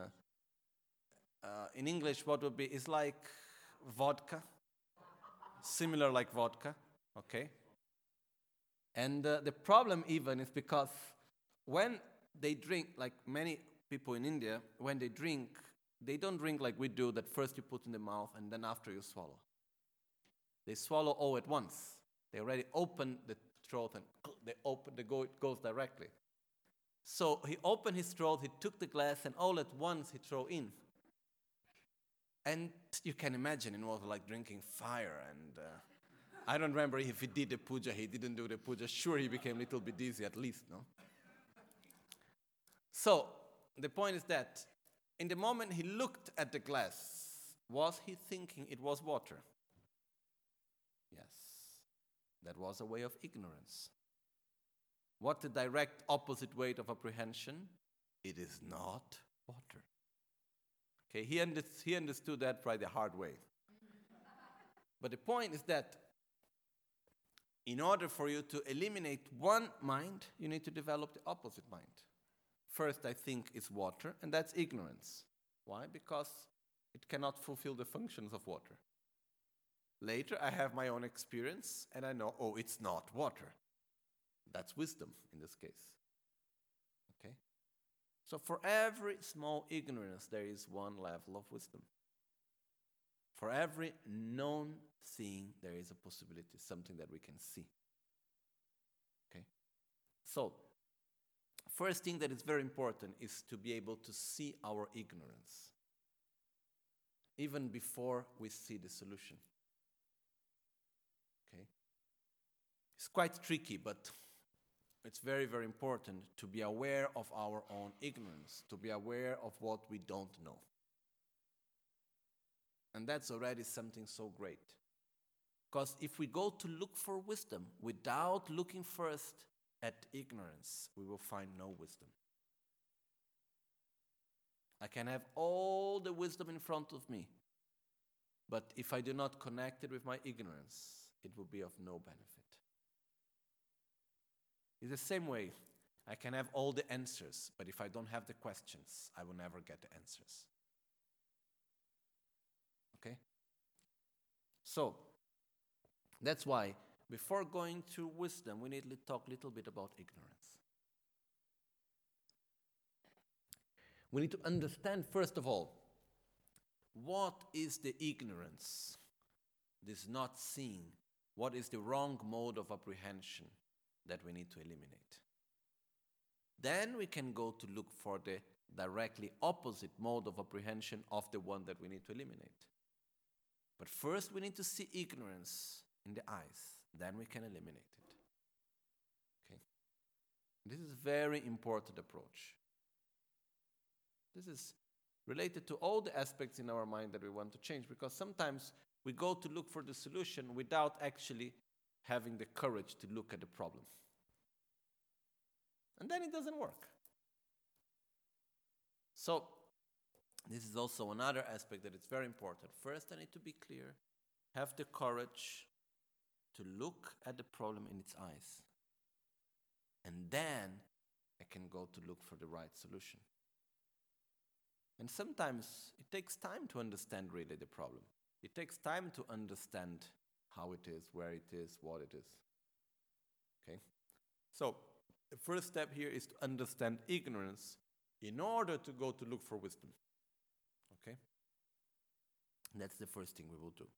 in English, what would be, it's like vodka, similar like vodka, okay? And the problem even is because when they drink, like many people in India, when they drink, they don't drink like we do, that first you put in the mouth and then after you swallow. They swallow all at once. They already open the throat and it goes directly. So he opened his throat, he took the glass, and all at once he threw in. And you can imagine it was like drinking fire. And I don't remember if he did the puja, he didn't do the puja. Sure, he became a little bit dizzy at least, no? So the point is that in the moment he looked at the glass, was he thinking it was water? Yes. That was a way of ignorance. What the direct opposite way of apprehension? It is not water. Okay, he understood that by the hard way. But the point is that in order for you to eliminate one mind, you need to develop the opposite mind. First, I think it's water, and that's ignorance. Why? Because it cannot fulfill the functions of water. Later, I have my own experience, and I know, oh, it's not water. That's wisdom in this case. Okay? So for every small ignorance, there is one level of wisdom. For every known thing, there is a possibility, something that we can see. Okay? So, first thing that is very important is to be able to see our ignorance, even before we see the solution. Okay? It's quite tricky, but it's very, very important to be aware of our own ignorance, to be aware of what we don't know. And that's already something so great. Because if we go to look for wisdom without looking first at ignorance, we will find no wisdom. I can have all the wisdom in front of me, but if I do not connect it with my ignorance, it will be of no benefit. It's the same way. I can have all the answers, but if I don't have the questions, I will never get the answers. Okay? So, that's why before going to wisdom, we need to talk a little bit about ignorance. We need to understand, first of all, what is the ignorance, this not seeing, what is the wrong mode of apprehension that we need to eliminate. Then we can go to look for the directly opposite mode of apprehension of the one that we need to eliminate. But first we need to see ignorance in the eyes, then we can eliminate it. Okay? This is a very important approach. This is related to all the aspects in our mind that we want to change, because sometimes we go to look for the solution without actually having the courage to look at the problem. And then it doesn't work. So, this is also another aspect that is very important. First, I need to be clear, have the courage to look at the problem in its eyes. And then I can go to look for the right solution. And sometimes it takes time to understand really the problem. It takes time to understand how it is, where it is, what it is. Okay? So, the first step here is to understand ignorance in order to go to look for wisdom. Okay? And that's the first thing we will do.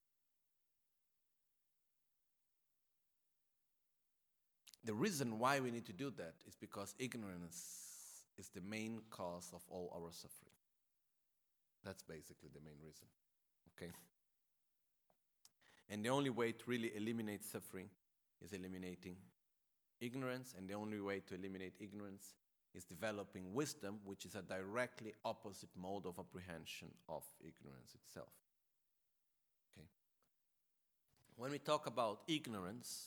The reason why we need to do that is because ignorance is the main cause of all our suffering. That's basically the main reason. Okay? And the only way to really eliminate suffering is eliminating ignorance, and the only way to eliminate ignorance is developing wisdom, which is a directly opposite mode of apprehension of ignorance itself. Okay. When we talk about ignorance,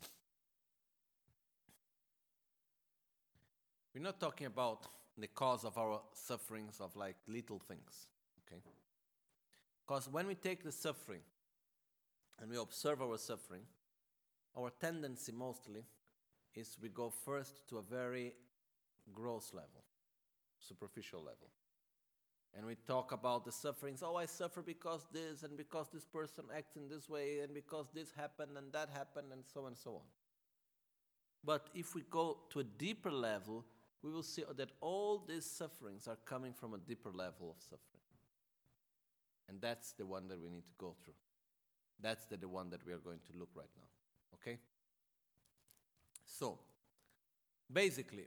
we're not talking about the cause of our sufferings of like little things, okay? Because when we take the suffering and we observe our suffering, our tendency mostly is we go first to a very gross level, superficial level. And we talk about the sufferings. Oh, I suffer because this, and because this person acts in this way, and because this happened and that happened, and so on and so on. But if we go to a deeper level, we will see that all these sufferings are coming from a deeper level of suffering. And that's the one that we need to go through. That's the one that we are going to look right now. Okay? So, basically,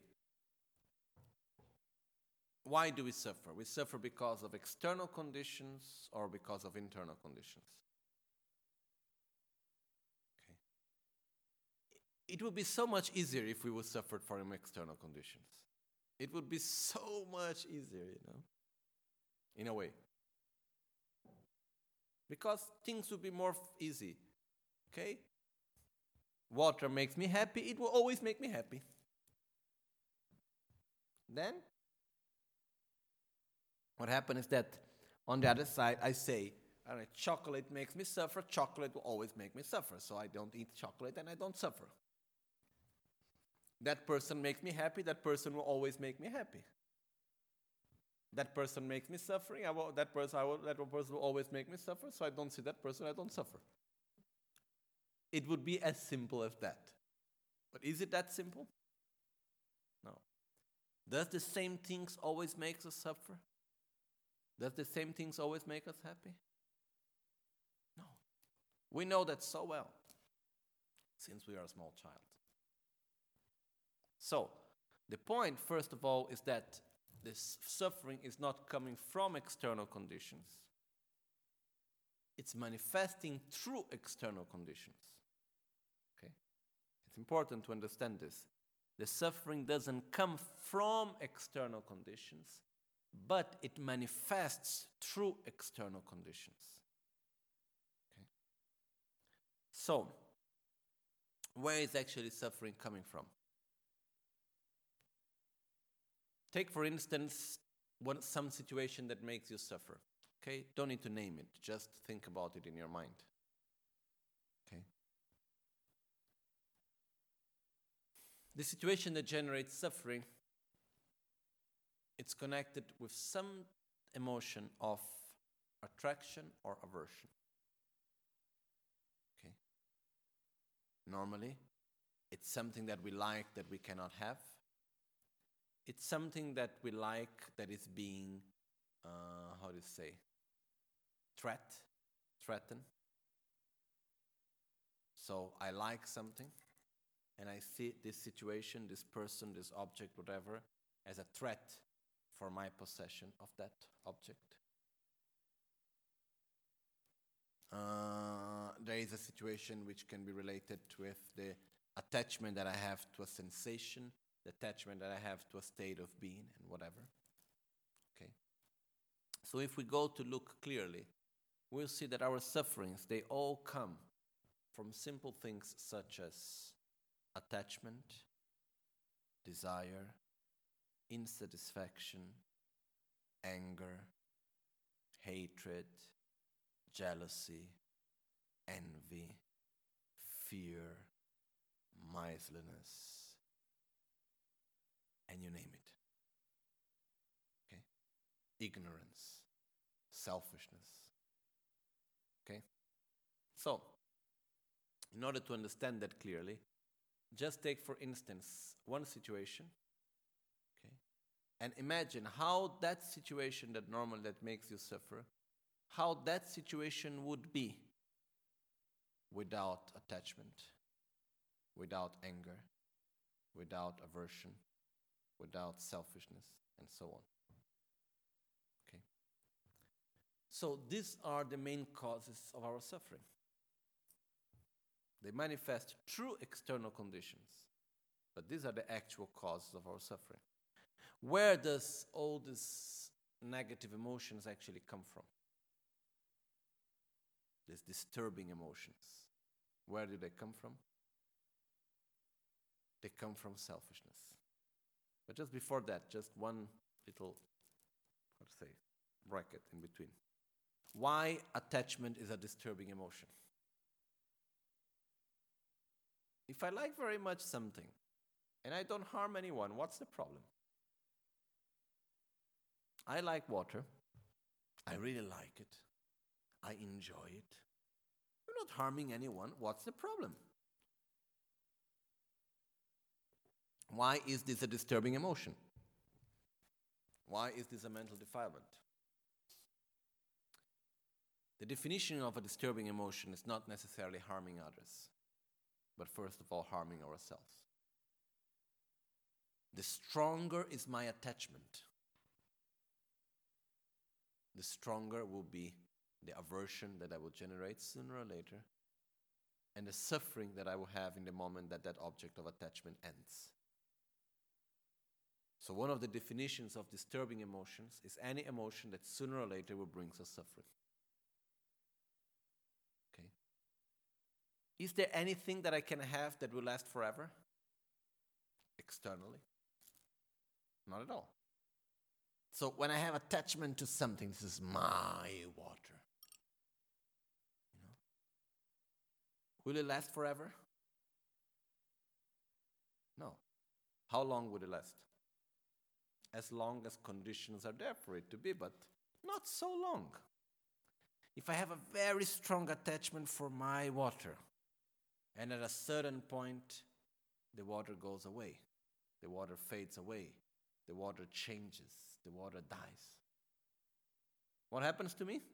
why do we suffer? We suffer because of external conditions or because of internal conditions. Okay. It would be so much easier if we would suffer from external conditions. It would be so much easier, in a way. Because things would be more easy. Okay? Water makes me happy, it will always make me happy. Then, what happens is that on the other side, I say, all right, chocolate makes me suffer, chocolate will always make me suffer, so I don't eat chocolate and I don't suffer. That person makes me happy, that person will always make me happy. That person makes me suffering, that person will always make me suffer, so I don't see that person, I don't suffer. It would be as simple as that. But is it that simple? No. Does the same things always make us suffer? Does the same things always make us happy? No. We know that so well, since we are a small child. So, the point, first of all, is that this suffering is not coming from external conditions. It's manifesting through external conditions. Okay? It's important to understand this. The suffering doesn't come from external conditions, but it manifests through external conditions. Okay? So, where is actually suffering coming from? Take, for instance, some situation that makes you suffer. Okay? Don't need to name it. Just think about it in your mind. Okay? The situation that generates suffering, it's connected with some emotion of attraction or aversion. Okay? Normally, it's something that we like that we cannot have. It's something that we like that is being, threatened. So I like something, and I see this situation, this person, this object, whatever, as a threat for my possession of that object. There is a situation which can be related with the attachment that I have to a sensation, the attachment that I have to a state of being, and whatever. Okay. So if we go to look clearly, we'll see that our sufferings, they all come from simple things such as attachment, desire, insatisfaction, anger, hatred, jealousy, envy, fear, miserliness, and you name it. Okay? Ignorance, selfishness. Okay? So, in order to understand that clearly, just take, for instance, one situation, okay? And imagine how that situation that makes you suffer, how that situation would be without attachment, without anger, without aversion, without selfishness, and so on. Okay? So these are the main causes of our suffering. They manifest through external conditions, but these are the actual causes of our suffering. Where does all these negative emotions actually come from? These disturbing emotions. Where do they come from? They come from selfishness. But just before that, just one little, bracket in between. Why attachment is a disturbing emotion? If I like very much something and I don't harm anyone, what's the problem? I like water. I really like it. I enjoy it. You're not harming anyone. What's the problem? Why is this a disturbing emotion? Why is this a mental defilement? The definition of a disturbing emotion is not necessarily harming others, but first of all, harming ourselves. The stronger is my attachment, the stronger will be the aversion that I will generate sooner or later, and the suffering that I will have in the moment that that object of attachment ends. So one of the definitions of disturbing emotions is any emotion that sooner or later will bring us suffering. Okay? Is there anything that I can have that will last forever? Externally? Not at all. So when I have attachment to something, this is my water. Will it last forever? No. How long would it last? As long as conditions are there for it to be, but not so long. If I have a very strong attachment for my water, and at a certain point, the water goes away, the water fades away, the water changes, the water dies. What happens to me?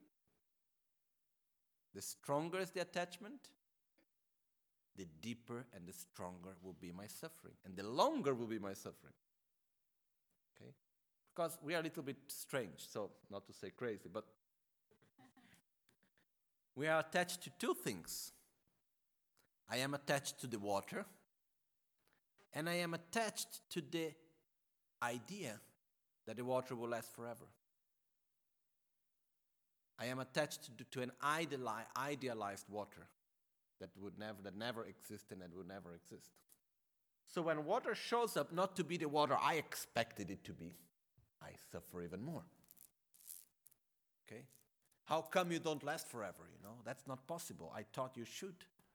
The stronger is the attachment, the deeper and the stronger will be my suffering, and the longer will be my suffering. Okay? Because we are a little bit strange, so not to say crazy, but we are attached to two things. I am attached to the water, and I am attached to the idea that the water will last forever. I am attached to an idealized water that never existed and would never exist. So when water shows up not to be the water I expected it to be, I suffer even more. Okay? How come you don't last forever? That's not possible. I thought you should.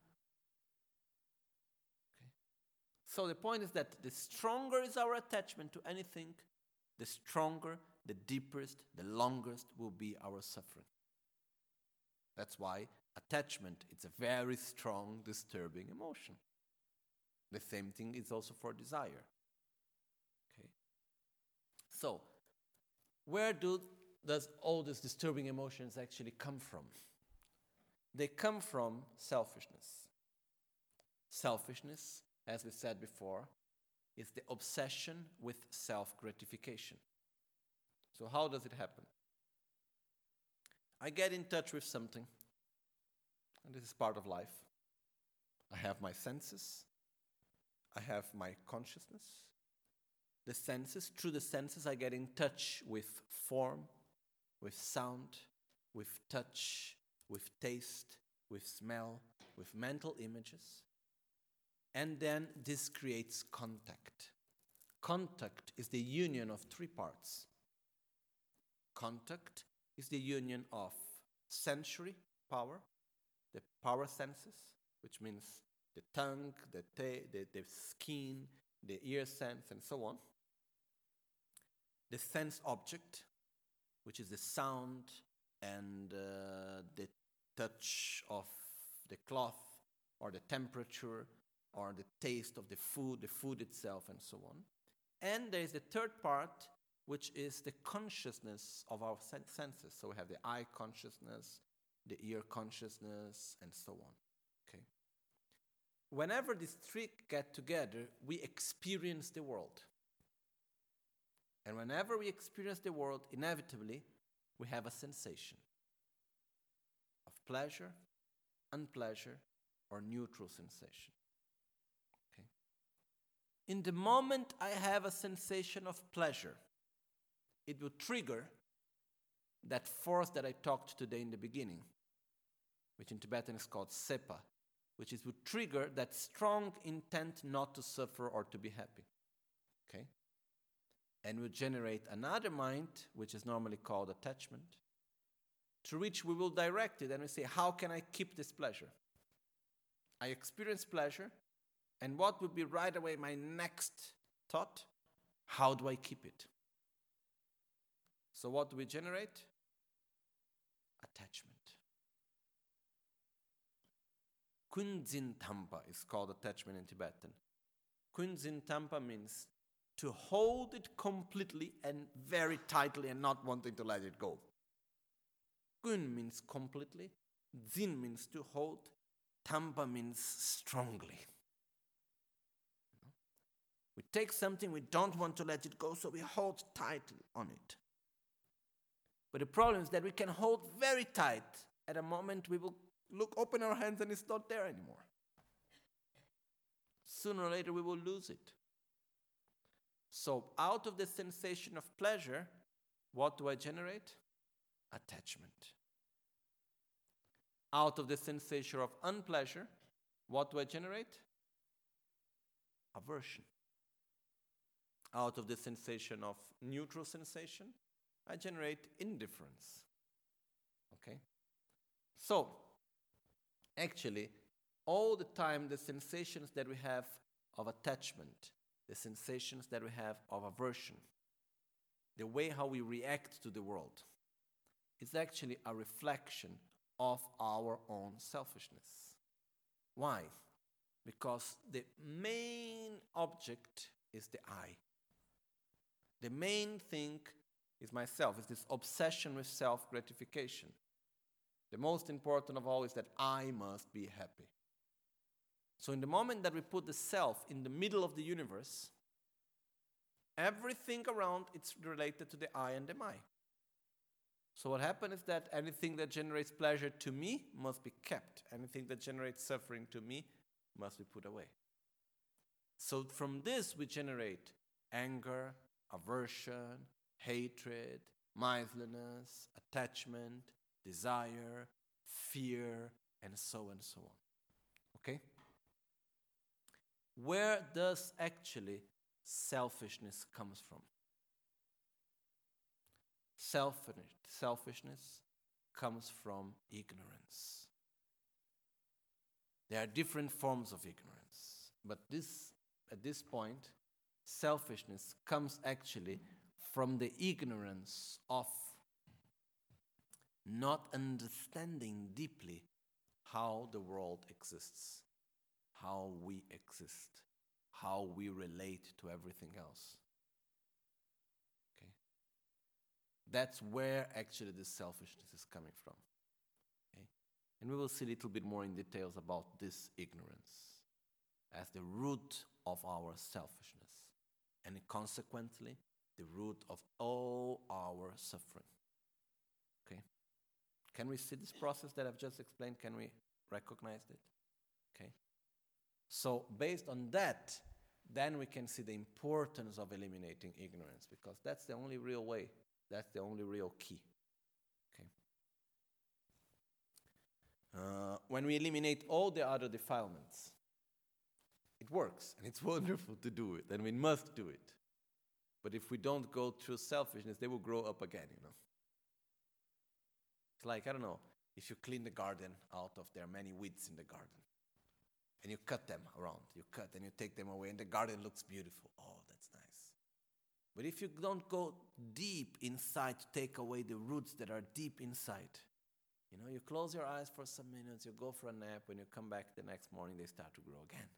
Okay? So the point is that the stronger is our attachment to anything, the stronger, the deepest, the longest will be our suffering. That's why attachment is a very strong, disturbing emotion. The same thing is also for desire. Okay? So, where does all these disturbing emotions actually come from? They come from selfishness. Selfishness, as we said before, is the obsession with self-gratification. So how does it happen? I get in touch with something, and this is part of life. I have my senses. I have my consciousness. The senses, through the senses, I get in touch with form, with sound, with touch, with taste, with smell, with mental images. And then this creates contact. Contact is the union of three parts. Contact is the union of sensory power, the power senses, which means the tongue, the skin, the ear sense, and so on. The sense object, which is the sound and the touch of the cloth, or the temperature, or the taste of the food itself, and so on. And there is the third part, which is the consciousness of our senses. So we have the eye consciousness, the ear consciousness, and so on. Okay. Whenever these three get together, we experience the world. And whenever we experience the world, inevitably, we have a sensation of pleasure, unpleasure, or neutral sensation. Okay? In the moment I have a sensation of pleasure, it will trigger that force that I talked today in the beginning, which in Tibetan is called sepa, which is would trigger that strong intent not to suffer or to be happy. Okay? And will generate another mind, which is normally called attachment, to which we will direct it and we say, how can I keep this pleasure? I experience pleasure, and what would be right away my next thought? How do I keep it? So what do we generate? Attachment. Kunzin Tampa is called attachment in Tibetan. Kunzin Tampa means to hold it completely and very tightly and not wanting to let it go. Kun means completely. Zin means to hold. Tampa means strongly. We take something, we don't want to let it go, so we hold tightly on it. But the problem is that we can hold very tight. At a moment we will open our hands and it's not there anymore. Sooner or later we will lose it. So out of the sensation of pleasure, what do I generate? Attachment. Out of the sensation of unpleasure, what do I generate? Aversion. Out of the sensation of neutral sensation, I generate indifference. Okay? So, actually, all the time the sensations that we have of attachment, the sensations that we have of aversion, the way how we react to the world, is actually a reflection of our own selfishness. Why? Because the main object is the I. The main thing is myself, is this obsession with self-gratification. The most important of all is that I must be happy. So in the moment that we put the self in the middle of the universe, everything around it's related to the I and the my. So what happens is that anything that generates pleasure to me must be kept. Anything that generates suffering to me must be put away. So from this we generate anger, aversion, hatred, miserliness, attachment, desire, fear, and so on. Okay? Where does actually selfishness comes from? Selfishness comes from ignorance. There are different forms of ignorance, but at this point, selfishness comes actually from the ignorance of not understanding deeply how the world exists, how we exist, how we relate to everything else. Okay? That's where actually this selfishness is coming from. Okay? And we will see a little bit more in details about this ignorance as the root of our selfishness, and consequently the root of all our suffering. Okay? Can we see this process that I've just explained? Can we recognize it? Okay? So based on that, then we can see the importance of eliminating ignorance, because that's the only real way, that's the only real key. Okay? When we eliminate all the other defilements, it works, and it's wonderful to do it, and we must do it. But if we don't go through selfishness, they will grow up again, you know. It's like, I don't know, if you clean the garden out of there are many weeds in the garden, and you cut them around, you cut and you take them away, and the garden looks beautiful. Oh, that's nice. But if you don't go deep inside to take away the roots that are deep inside, you know, you close your eyes for some minutes, you go for a nap, when you come back the next morning, they start to grow again.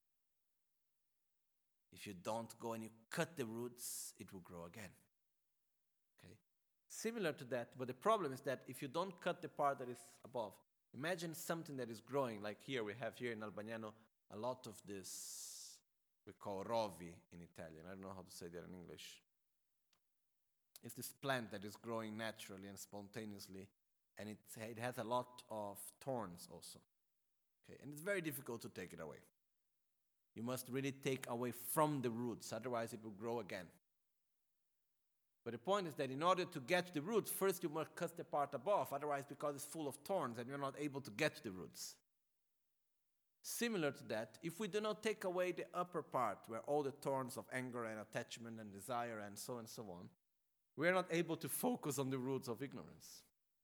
If you don't go and you cut the roots, it will grow again. Okay? Similar to that, but the problem is that if you don't cut the part that is above, imagine something that is growing, like here, we have here in Albagnano a lot of this, we call rovi in Italian. I don't know how to say that in English. It's this plant that is growing naturally and spontaneously, and it has a lot of thorns also. Okay? And it's very difficult to take it away. You must really take away from the roots, otherwise it will grow again. But the point is that in order to get the roots, first you must cut the part above, otherwise because it's full of thorns and you're not able to get the roots. Similar to that, if we do not take away the upper part where all the thorns of anger and attachment and desire and so on, we are not able to focus on the roots of ignorance.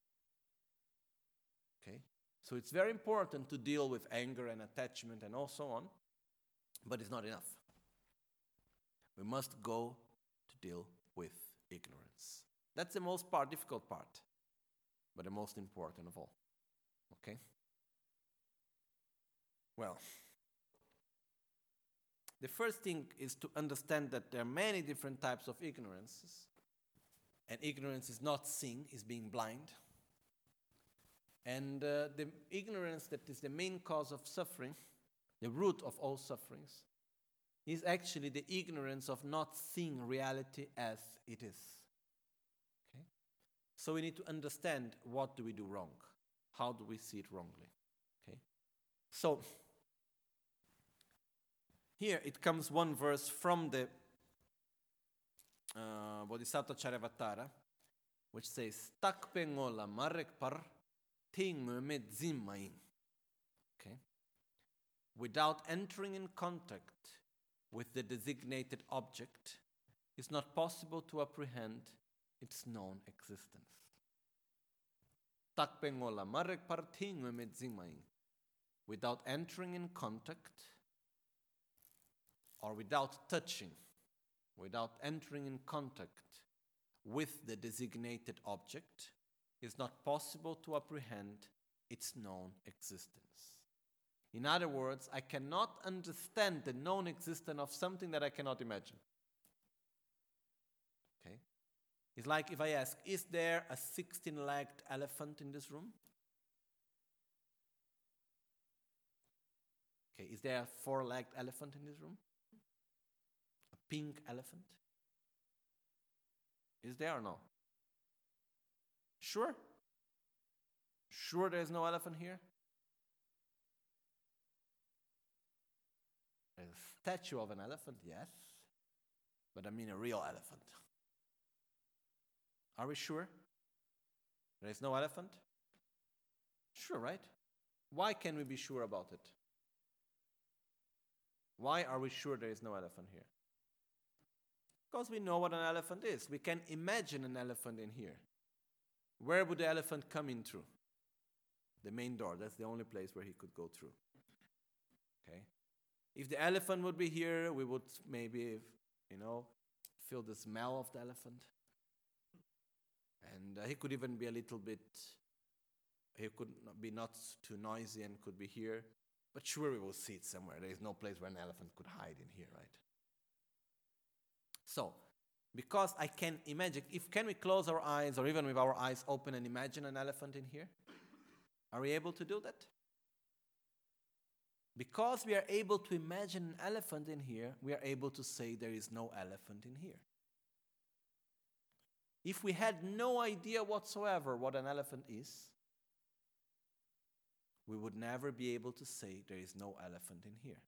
Okay? So it's very important to deal with anger and attachment and so on, but it's not enough. We must go to deal with ignorance. That's the most difficult part, but the most important of all. Okay? Well, the first thing is to understand that there are many different types of ignorances, and ignorance is not seeing, is being blind. And the ignorance that is the main cause of suffering, the root of all sufferings, is actually the ignorance of not seeing reality as it is. Okay? So we need to understand, what do we do wrong? How do we see it wrongly? Okay? So here it comes one verse from the Bodhisattva Charyavatara, which says, Tak pengola marek par ting me zimmain. Okay? Without entering in contact with the designated object, it's not possible to apprehend its known existence. Tak pengola marek par ting me zimmain. Without entering in contact, or without touching, without entering in contact with the designated object, it's not possible to apprehend its known existence. In other words, I cannot understand the known existence of something that I cannot imagine. Okay? It's like if I ask, is there a 16-legged elephant in this room? Okay, is there a 4-legged elephant in this room? Pink elephant? Is there or no? Sure? Sure there is no elephant here? There's a statue of an elephant, yes. But I mean a real elephant. Are we sure? There is no elephant? Sure, right? Why can we be sure about it? Why are we sure there is no elephant here? Because we know what an elephant is. We can imagine an elephant in here. Where would the elephant come in through? The main door. That's the only place where he could go through. Okay? If the elephant would be here, we would maybe, feel the smell of the elephant. And he could even be a little bit, he could be not too noisy and could be here. But sure, we will see it somewhere. There is no place where an elephant could hide in here, right? So, because I can imagine, can we close our eyes or even with our eyes open and imagine an elephant in here? Are we able to do that? Because we are able to imagine an elephant in here, we are able to say there is no elephant in here. If we had no idea whatsoever what an elephant is, we would never be able to say there is no elephant in here.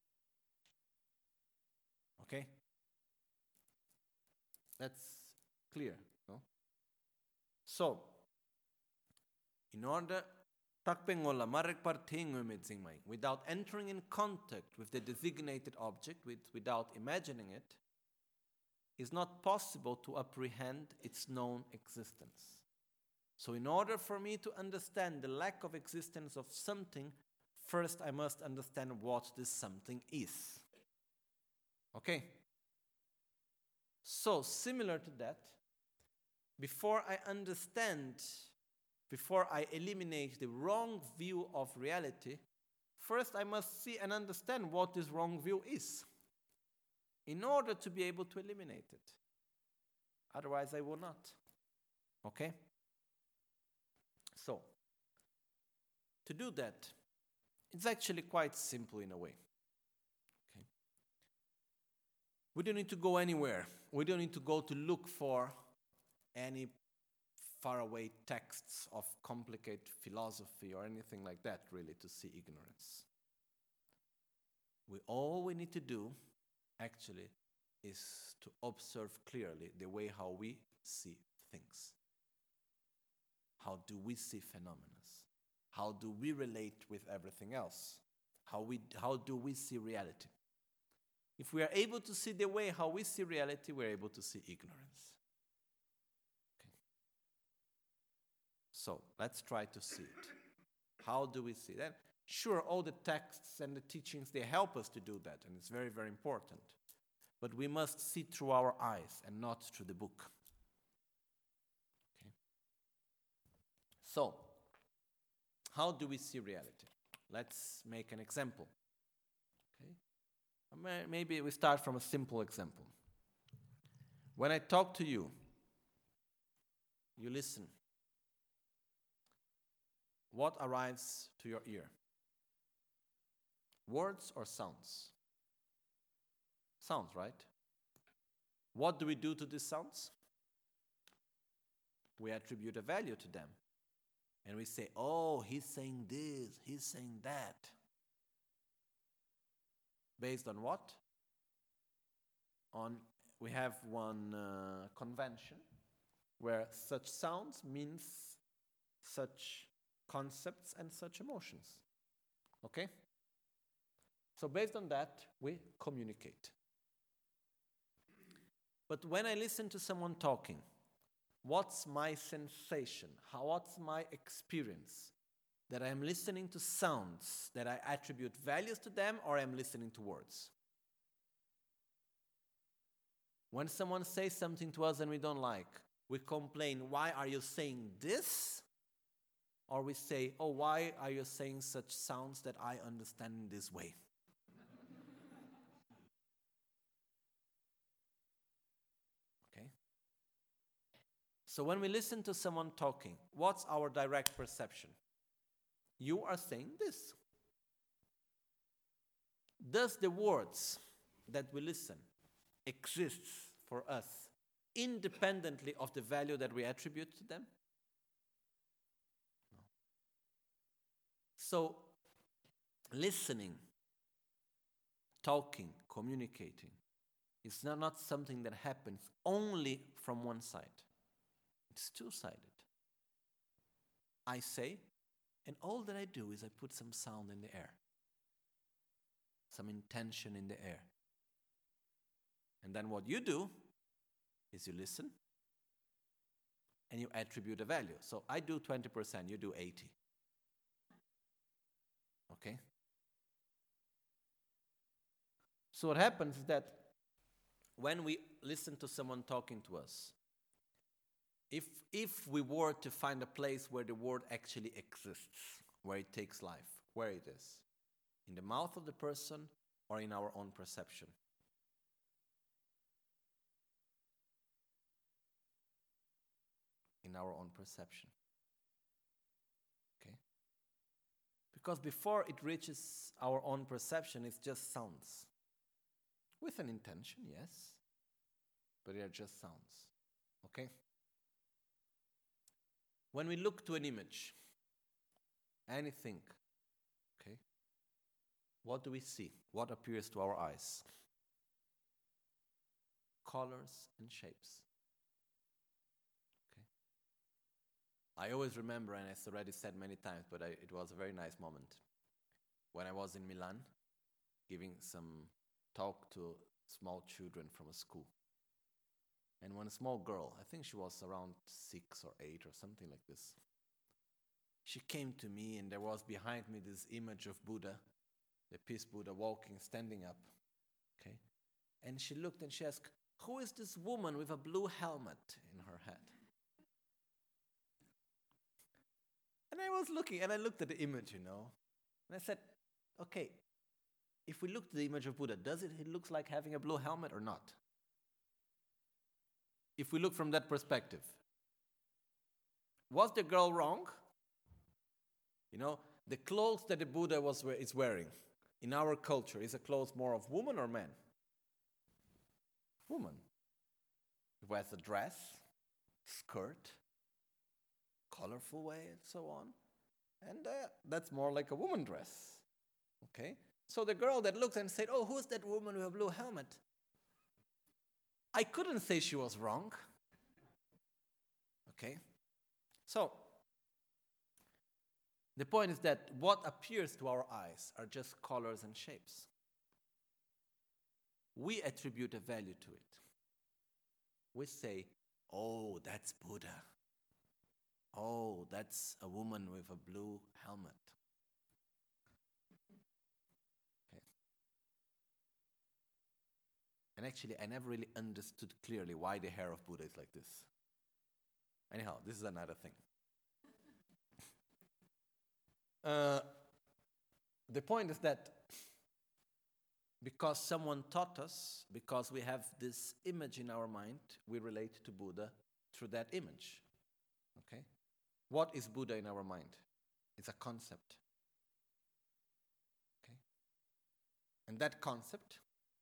Okay? That's clear, no? So, in order, without entering in contact with the designated object, without imagining it, is not possible to apprehend its known existence. So in order for me to understand the lack of existence of something, first I must understand what this something is. Okay? So, similar to that, before I eliminate the wrong view of reality, first I must see and understand what this wrong view is, in order to be able to eliminate it. Otherwise, I will not. Okay? So, to do that, it's actually quite simple in a way. Okay? We don't need to go anywhere. We don't need to go to look for any faraway texts of complicated philosophy or anything like that, really, to see ignorance. All we need to do, actually, is to observe clearly the way how we see things. How do we see phenomena? How do we relate with everything else? How do we see reality? If we are able to see the way how we see reality, we're able to see ignorance. Okay. So let's try to see it. How do we see that? Sure, all the texts and the teachings, they help us to do that, and it's very, very important. But we must see through our eyes and not through the book. Okay. So, how do we see reality? Let's make an example. Okay? Maybe we start from a simple example. When I talk to you, you listen. What arrives to your ear? Words or sounds? Sounds, right? What do we do to these sounds? We attribute a value to them. And we say, oh, he's saying this, he's saying that. Based on what? We have one convention where such sounds means such concepts and such emotions. Okay? So based on that, we communicate. But when I listen to someone talking, what's my sensation? What's my experience? That I am listening to sounds, that I attribute values to them, or I'm listening to words? When someone says something to us and we don't like, we complain, why are you saying this? Or we say, oh, why are you saying such sounds that I understand in this way? So when we listen to someone talking, what's our direct perception? You are saying this. Does the words that we listen exist for us independently of the value that we attribute to them? No. So listening, talking, communicating is not something that happens only from one side. It's two-sided. I say, and all that I do is I put some sound in the air, some intention in the air. And then what you do is you listen and you attribute a value. So I do 20%, you do 80%. Okay? So what happens is that when we listen to someone talking to us, if we were to find a place where the word actually exists, where it takes life, where it is, in the mouth of the person or in our own perception? In our own perception. Okay? Because before it reaches our own perception, it's just sounds. With an intention, yes, but they are just sounds. Okay? When we look to an image, anything, okay, what do we see? What appears to our eyes? Colors and shapes. Okay. I always remember, and it's already said many times, but it was a very nice moment, when I was in Milan, giving some talk to small children from a school. And one small girl, I think she was around 6 or 8 or something like this, she came to me, and there was behind me this image of Buddha, the peace Buddha, walking, standing up. Okay, and she looked and she asked, who is this woman with a blue helmet in her head? And I was looking, and I looked at the image, and I said, okay, if we look at the image of Buddha, does it look like having a blue helmet or not? If we look from that perspective, was the girl wrong? The clothes that the Buddha is wearing in our culture, is a clothes more of woman or man? Woman. He wears a dress, skirt, colorful way, and so on. And that's more like a woman dress. Okay? So the girl that looked and said, "Oh, who's that woman with a blue helmet?" I couldn't say she was wrong. Okay? So, the point is that what appears to our eyes are just colors and shapes. We attribute a value to it. We say, "Oh, that's Buddha. Oh, that's a woman with a blue helmet." Okay. And actually, I never really understood clearly why the hair of Buddha is like this. Anyhow, this is another thing. The point is that because someone taught us, because we have this image in our mind, we relate to Buddha through that image. Okay? What is Buddha in our mind? It's a concept. Okay? And that concept,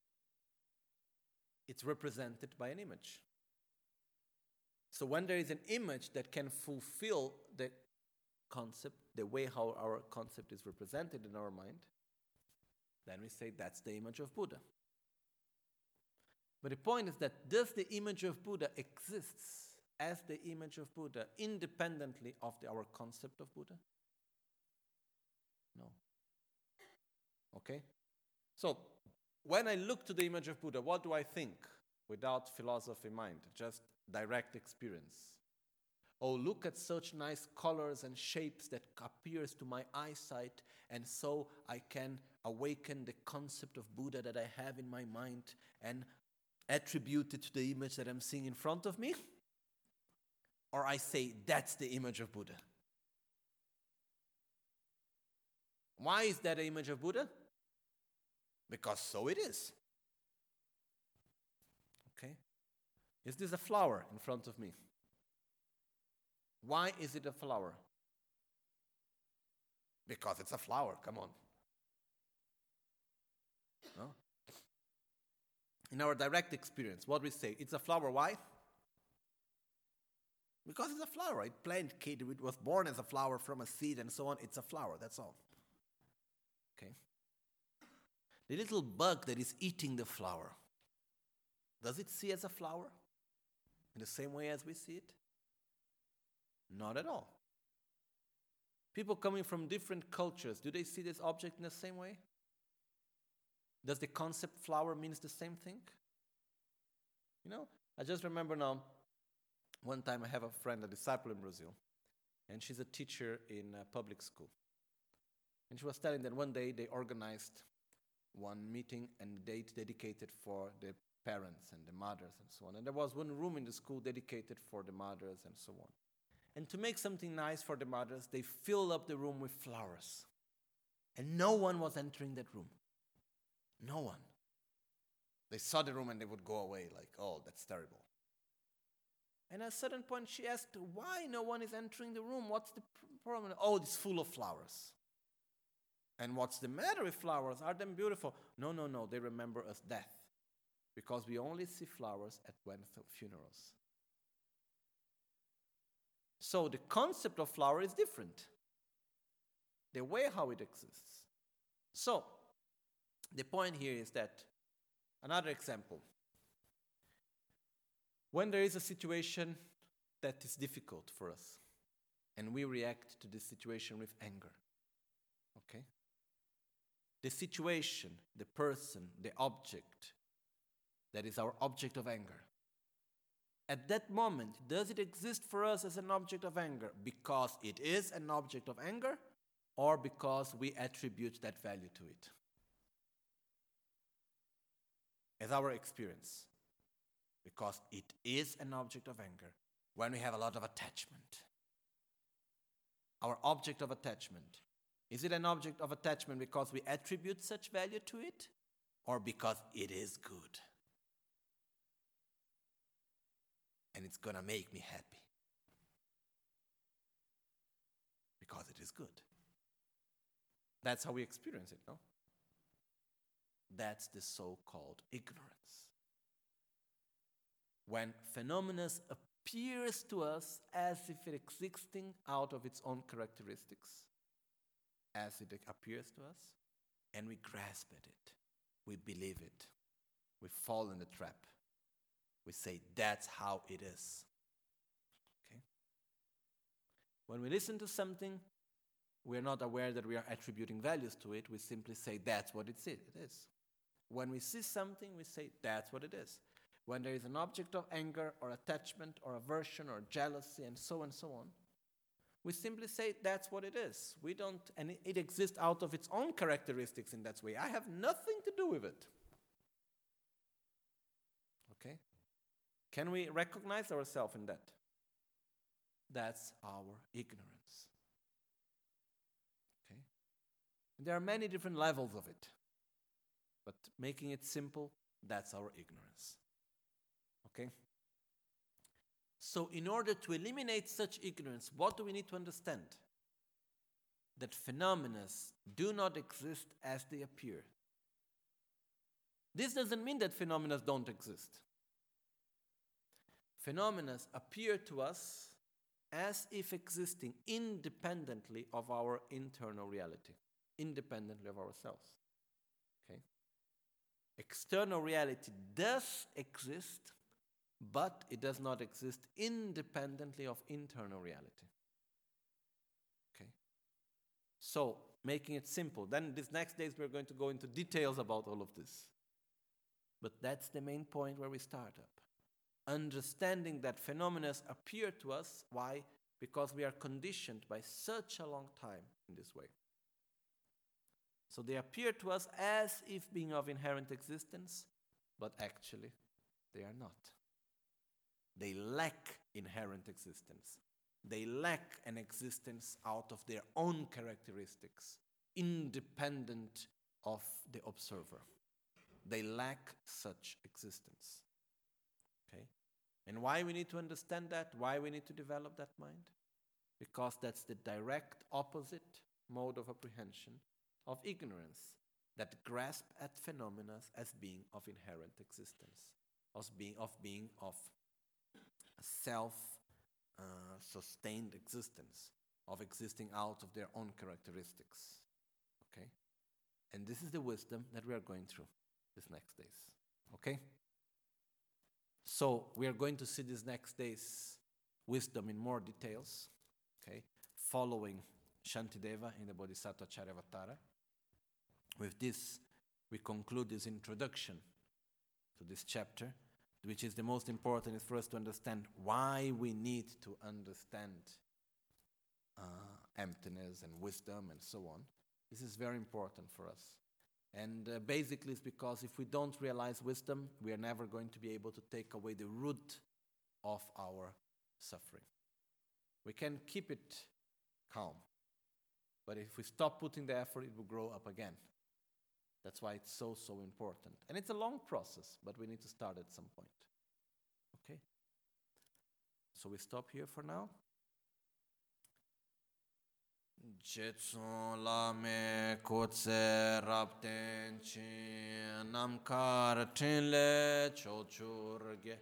it's represented by an image. So when there is an image that can fulfill the concept, the way how our concept is represented in our mind, then we say that's the image of Buddha. But the point is that does the image of Buddha exists as the image of Buddha independently of our concept of Buddha? No. Okay? So, when I look to the image of Buddha, what do I think? Without philosophy in mind, just direct experience. Oh, look at such nice colors and shapes that appears to my eyesight, and so I can awaken the concept of Buddha that I have in my mind and attribute it to the image that I'm seeing in front of me? Or I say, that's the image of Buddha. Why is that the image of Buddha? Because so it is. Okay? Is this a flower in front of me? Why is it a flower? Because it's a flower, come on. No? In our direct experience, what we say, it's a flower, why? Because it's a flower. It planted, it was born as a flower from a seed and so on. It's a flower, that's all. Okay? The little bug that is eating the flower, does it see as a flower in the same way as we see it? Not at all. People coming from different cultures, do they see this object in the same way? Does the concept flower means the same thing? You know, I just remember now, one time I have a friend, a disciple in Brazil, and she's a teacher in a public school. And she was telling that one day they organized one meeting and date dedicated for the parents and the mothers and so on. And there was one room in the school dedicated for the mothers and so on. And to make something nice for the mothers, they filled up the room with flowers. And no one was entering that room. No one. They saw the room and they would go away like, "Oh, that's terrible." And at a certain point she asked, "Why no one is entering the room? What's the problem?" "Oh, it's full of flowers." "And what's the matter with flowers? Are them beautiful?" No, they remember us death. Because we only see flowers at funerals. So the concept of flower is different. The way how it exists. So, the point here is that, another example. When there is a situation that is difficult for us, and we react to this situation with anger, okay? The situation, the person, the object, that is our object of anger. At that moment, does it exist for us as an object of anger because it is an object of anger, or because we attribute that value to it? As our experience. Because it is an object of anger when we have a lot of attachment. Our object of attachment. Is it an object of attachment because we attribute such value to it, or because it is good? And it's going to make me happy. Because it is good. That's how we experience it, no? That's the so-called ignorance. When phenomena appears to us as if it existing out of its own characteristics, as it appears to us, and we grasp at it. We believe it. We fall in the trap. We say, that's how it is. Okay? When we listen to something, we are not aware that we are attributing values to it. We simply say, that's what it is. When we see something, we say, that's what it is. When there is an object of anger or attachment or aversion or jealousy and so on, we simply say, that's what it is. We don't, and it exists out of its own characteristics in that way. I have nothing to do with it. Okay? Can we recognize ourselves in that? That's our ignorance. Okay? And there are many different levels of it. But making it simple, that's our ignorance. Okay? So in order to eliminate such ignorance, what do we need to understand? That phenomena do not exist as they appear. This doesn't mean that phenomena don't exist. Phenomena appear to us as if existing independently of our internal reality, independently of ourselves. Okay? External reality does exist, but it does not exist independently of internal reality. Okay? So, making it simple. Then these next days we're going to go into details about all of this. But that's the main point where we start up. Understanding that phenomena appear to us. Why? Because we are conditioned by such a long time in this way. So they appear to us as if being of inherent existence, but actually they are not. They lack inherent existence. They lack an existence out of their own characteristics, independent of the observer. They lack such existence. Okay? And why we need to understand that? Why we need to develop that mind? Because that's the direct opposite mode of apprehension of ignorance, that grasp at phenomena as being of inherent existence, of being of self-sustained existence, of existing out of their own characteristics. Okay? And this is the wisdom that we are going through these next days. Okay? So we are going to see these next days wisdom in more details. Okay? Following Shantideva in the Bodhisattva Charyavatara. With this, we conclude this introduction to this chapter, which is the most important, is for us to understand why we need to understand emptiness and wisdom and so on. This is very important for us. And basically it's because if we don't realize wisdom, we are never going to be able to take away the root of our suffering. We can keep it calm, but if we stop putting the effort, it will grow up again. That's why it's so important. And it's a long process, but we need to start at some point. Okay? So we stop here for now. Jetson lame kotse rapten chin namkar tinle chochurge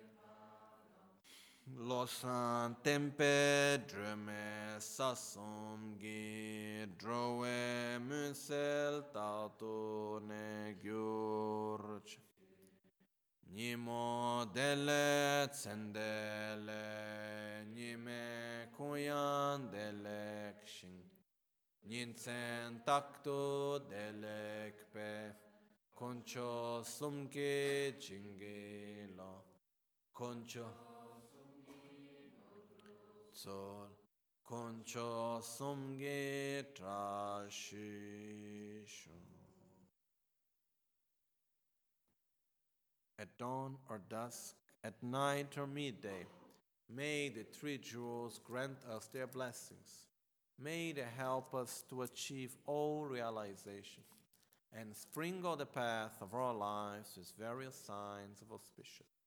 losan tempe drume sasum gi drowe musel tato ne gyurch nimo dele tsendele nime kuyan dele kshin Ninsen takto delekpe koncho sumke chingela koncho tsol koncho sumge trashisho. At dawn or dusk, at night or midday, may the three jewels grant us their blessings. May they help us to achieve all realization and sprinkle the path of our lives with various signs of auspicious.